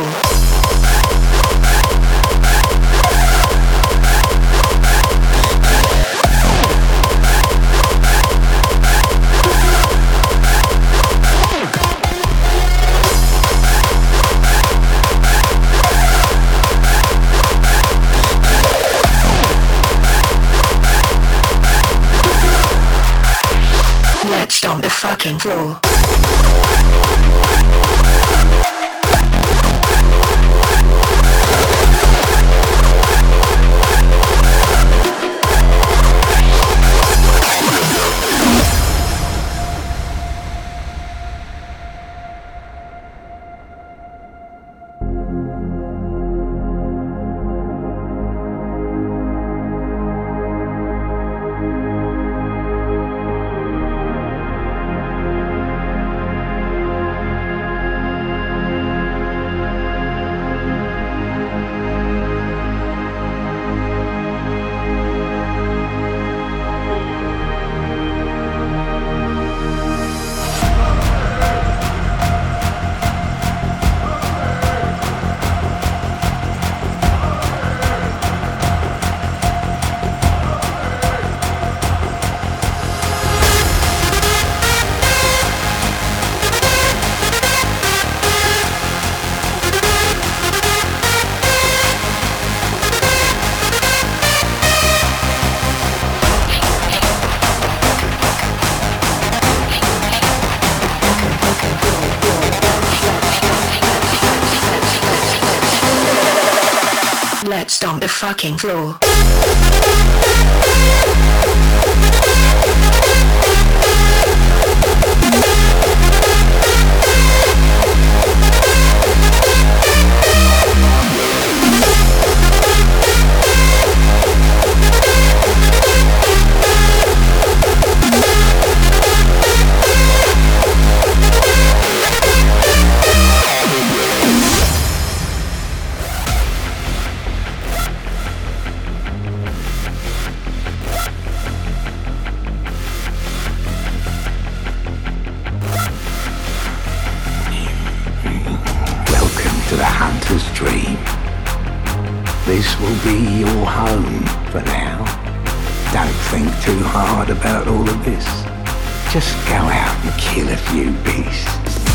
Let's stomp the fucking floor. Let's stomp the fucking floor. Dream. This will be your home for now. Don't think too hard about all of this. Just go out and kill a few beasts.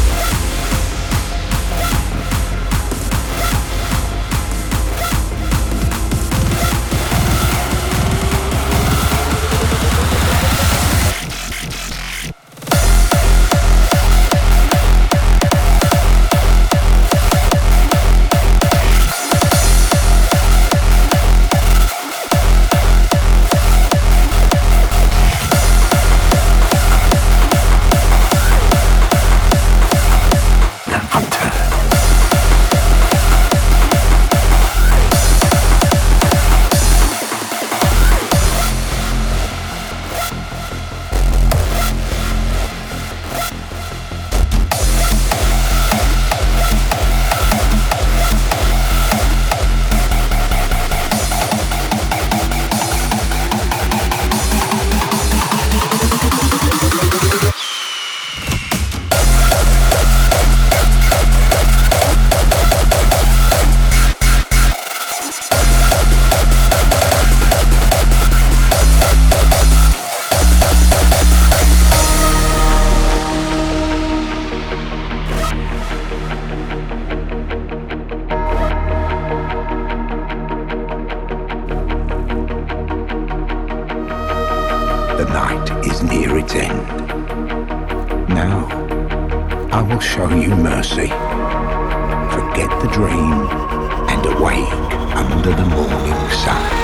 Show you mercy. Forget the dream and awake under the morning sun.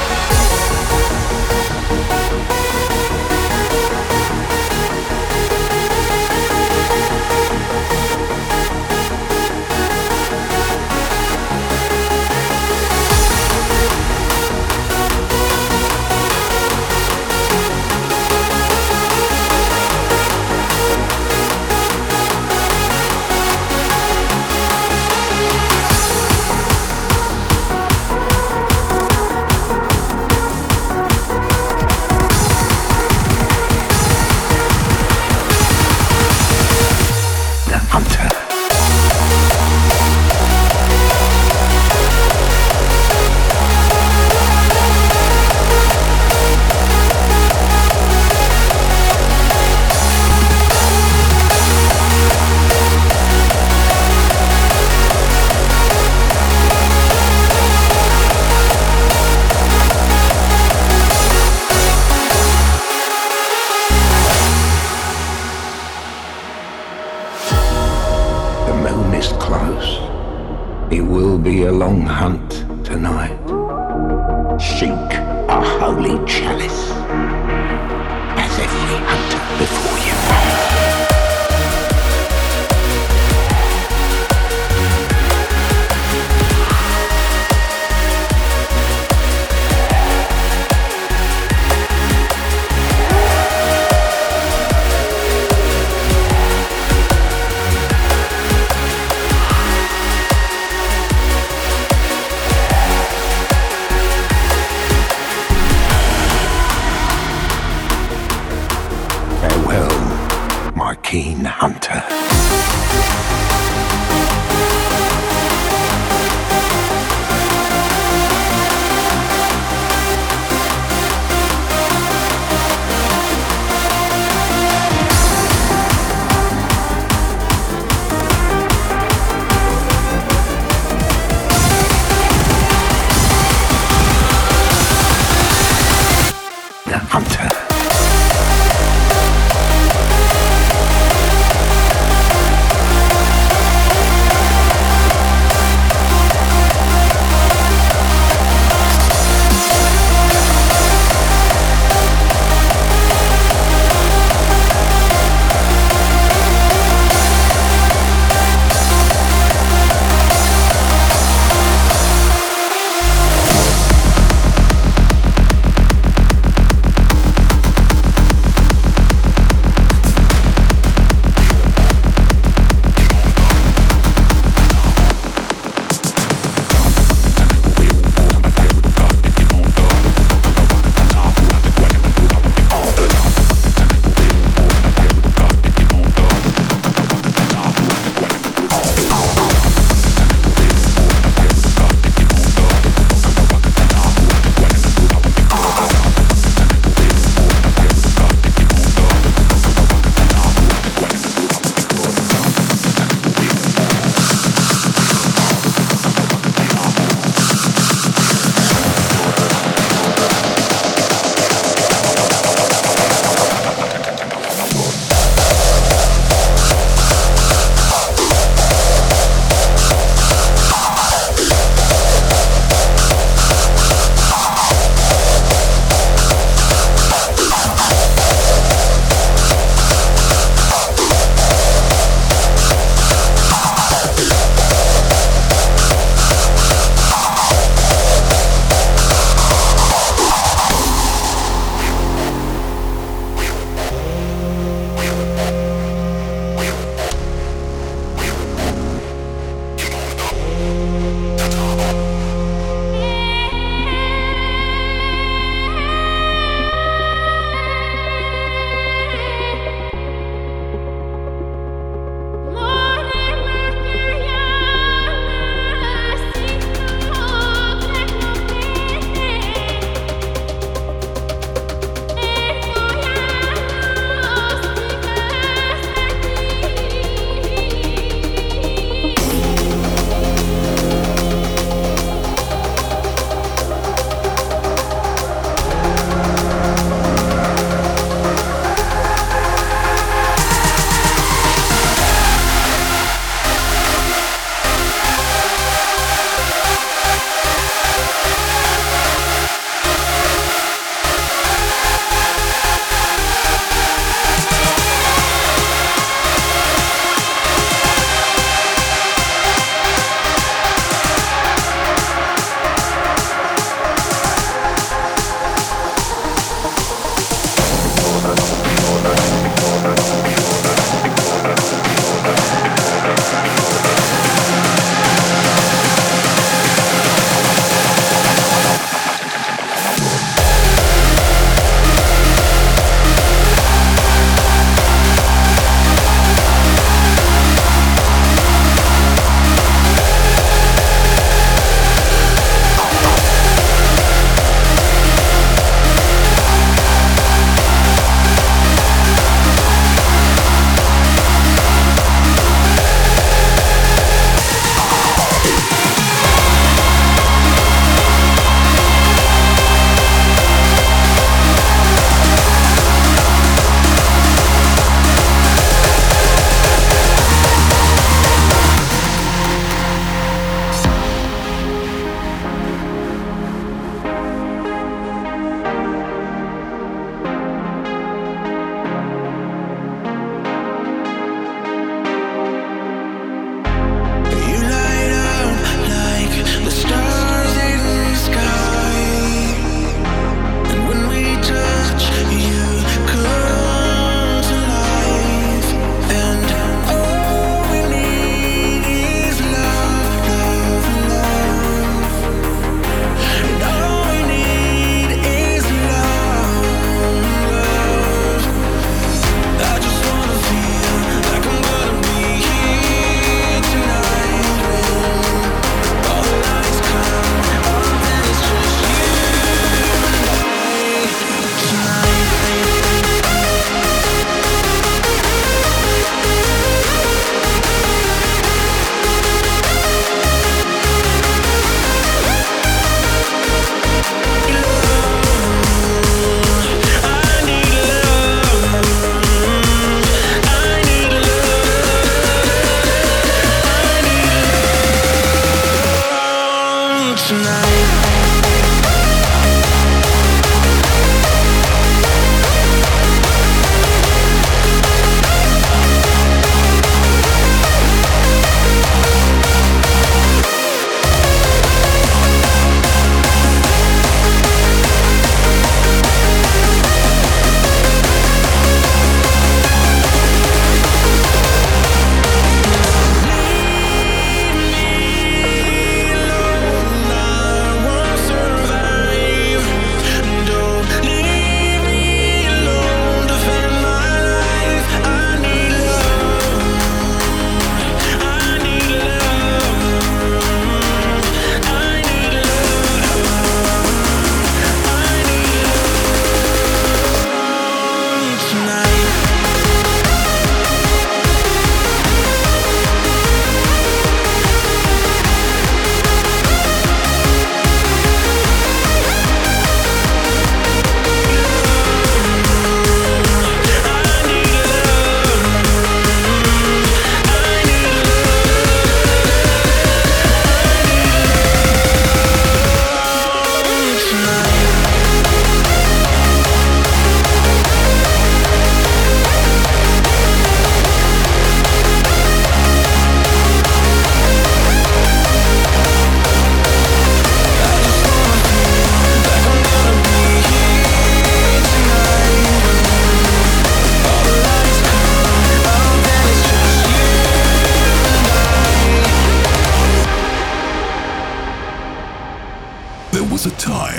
A long hunt tonight. Seek a holy chalice, as every hunter before you. Keen hunter. The hunter.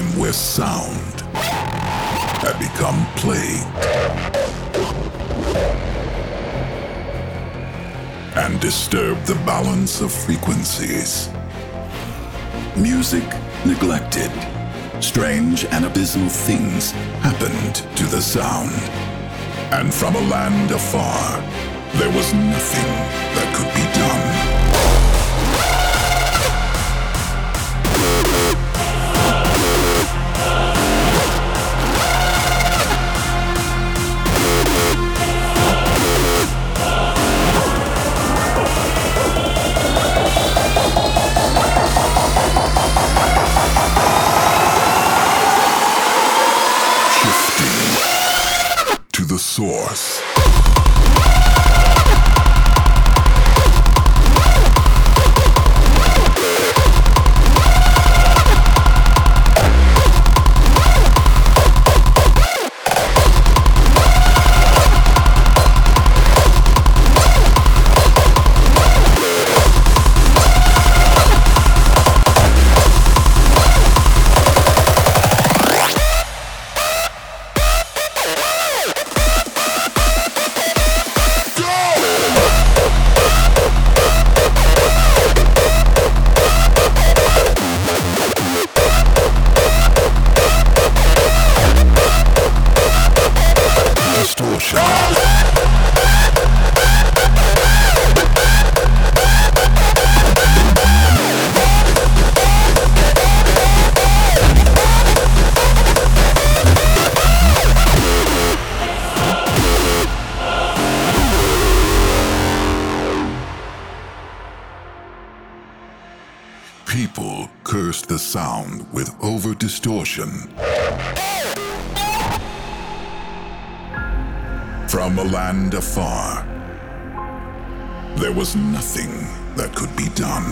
time where sound had become plagued and disturbed the balance of frequencies. Music neglected. Strange and abysmal things happened to the sound. And from a land afar, there was nothing that could be done. The source. People cursed the sound with over-distortion. From a land afar, there was nothing that could be done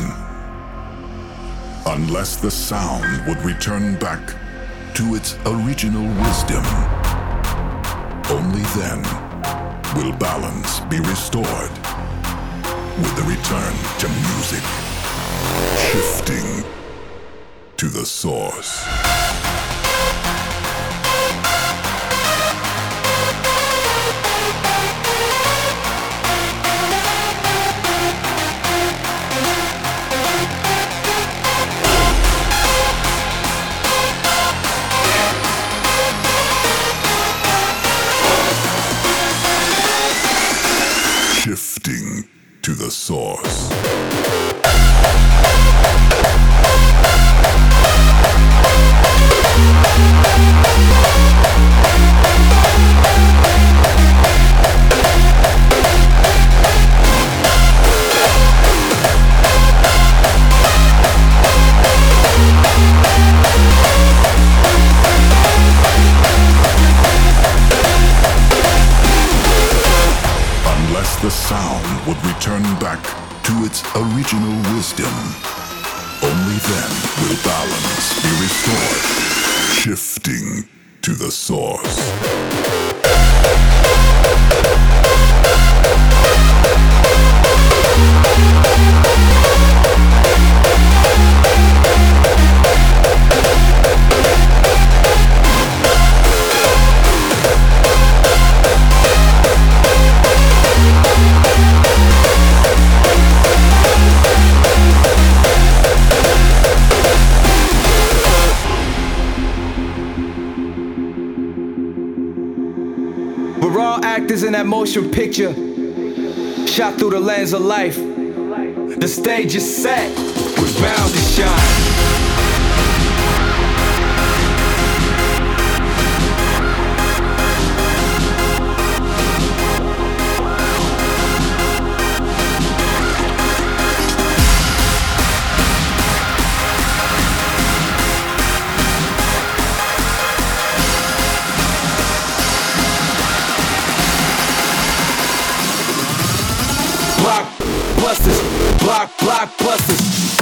unless the sound would return back to its original wisdom. Only then will balance be restored with the return to music. Shifting to the source. Shifting to the source. Unless the sound would return back to its original wisdom, only then will balance be restored. Shifting to the source. We're all actors in that motion picture, shot through the lens of life. The stage is set, we're bound to shine. Blockbusters.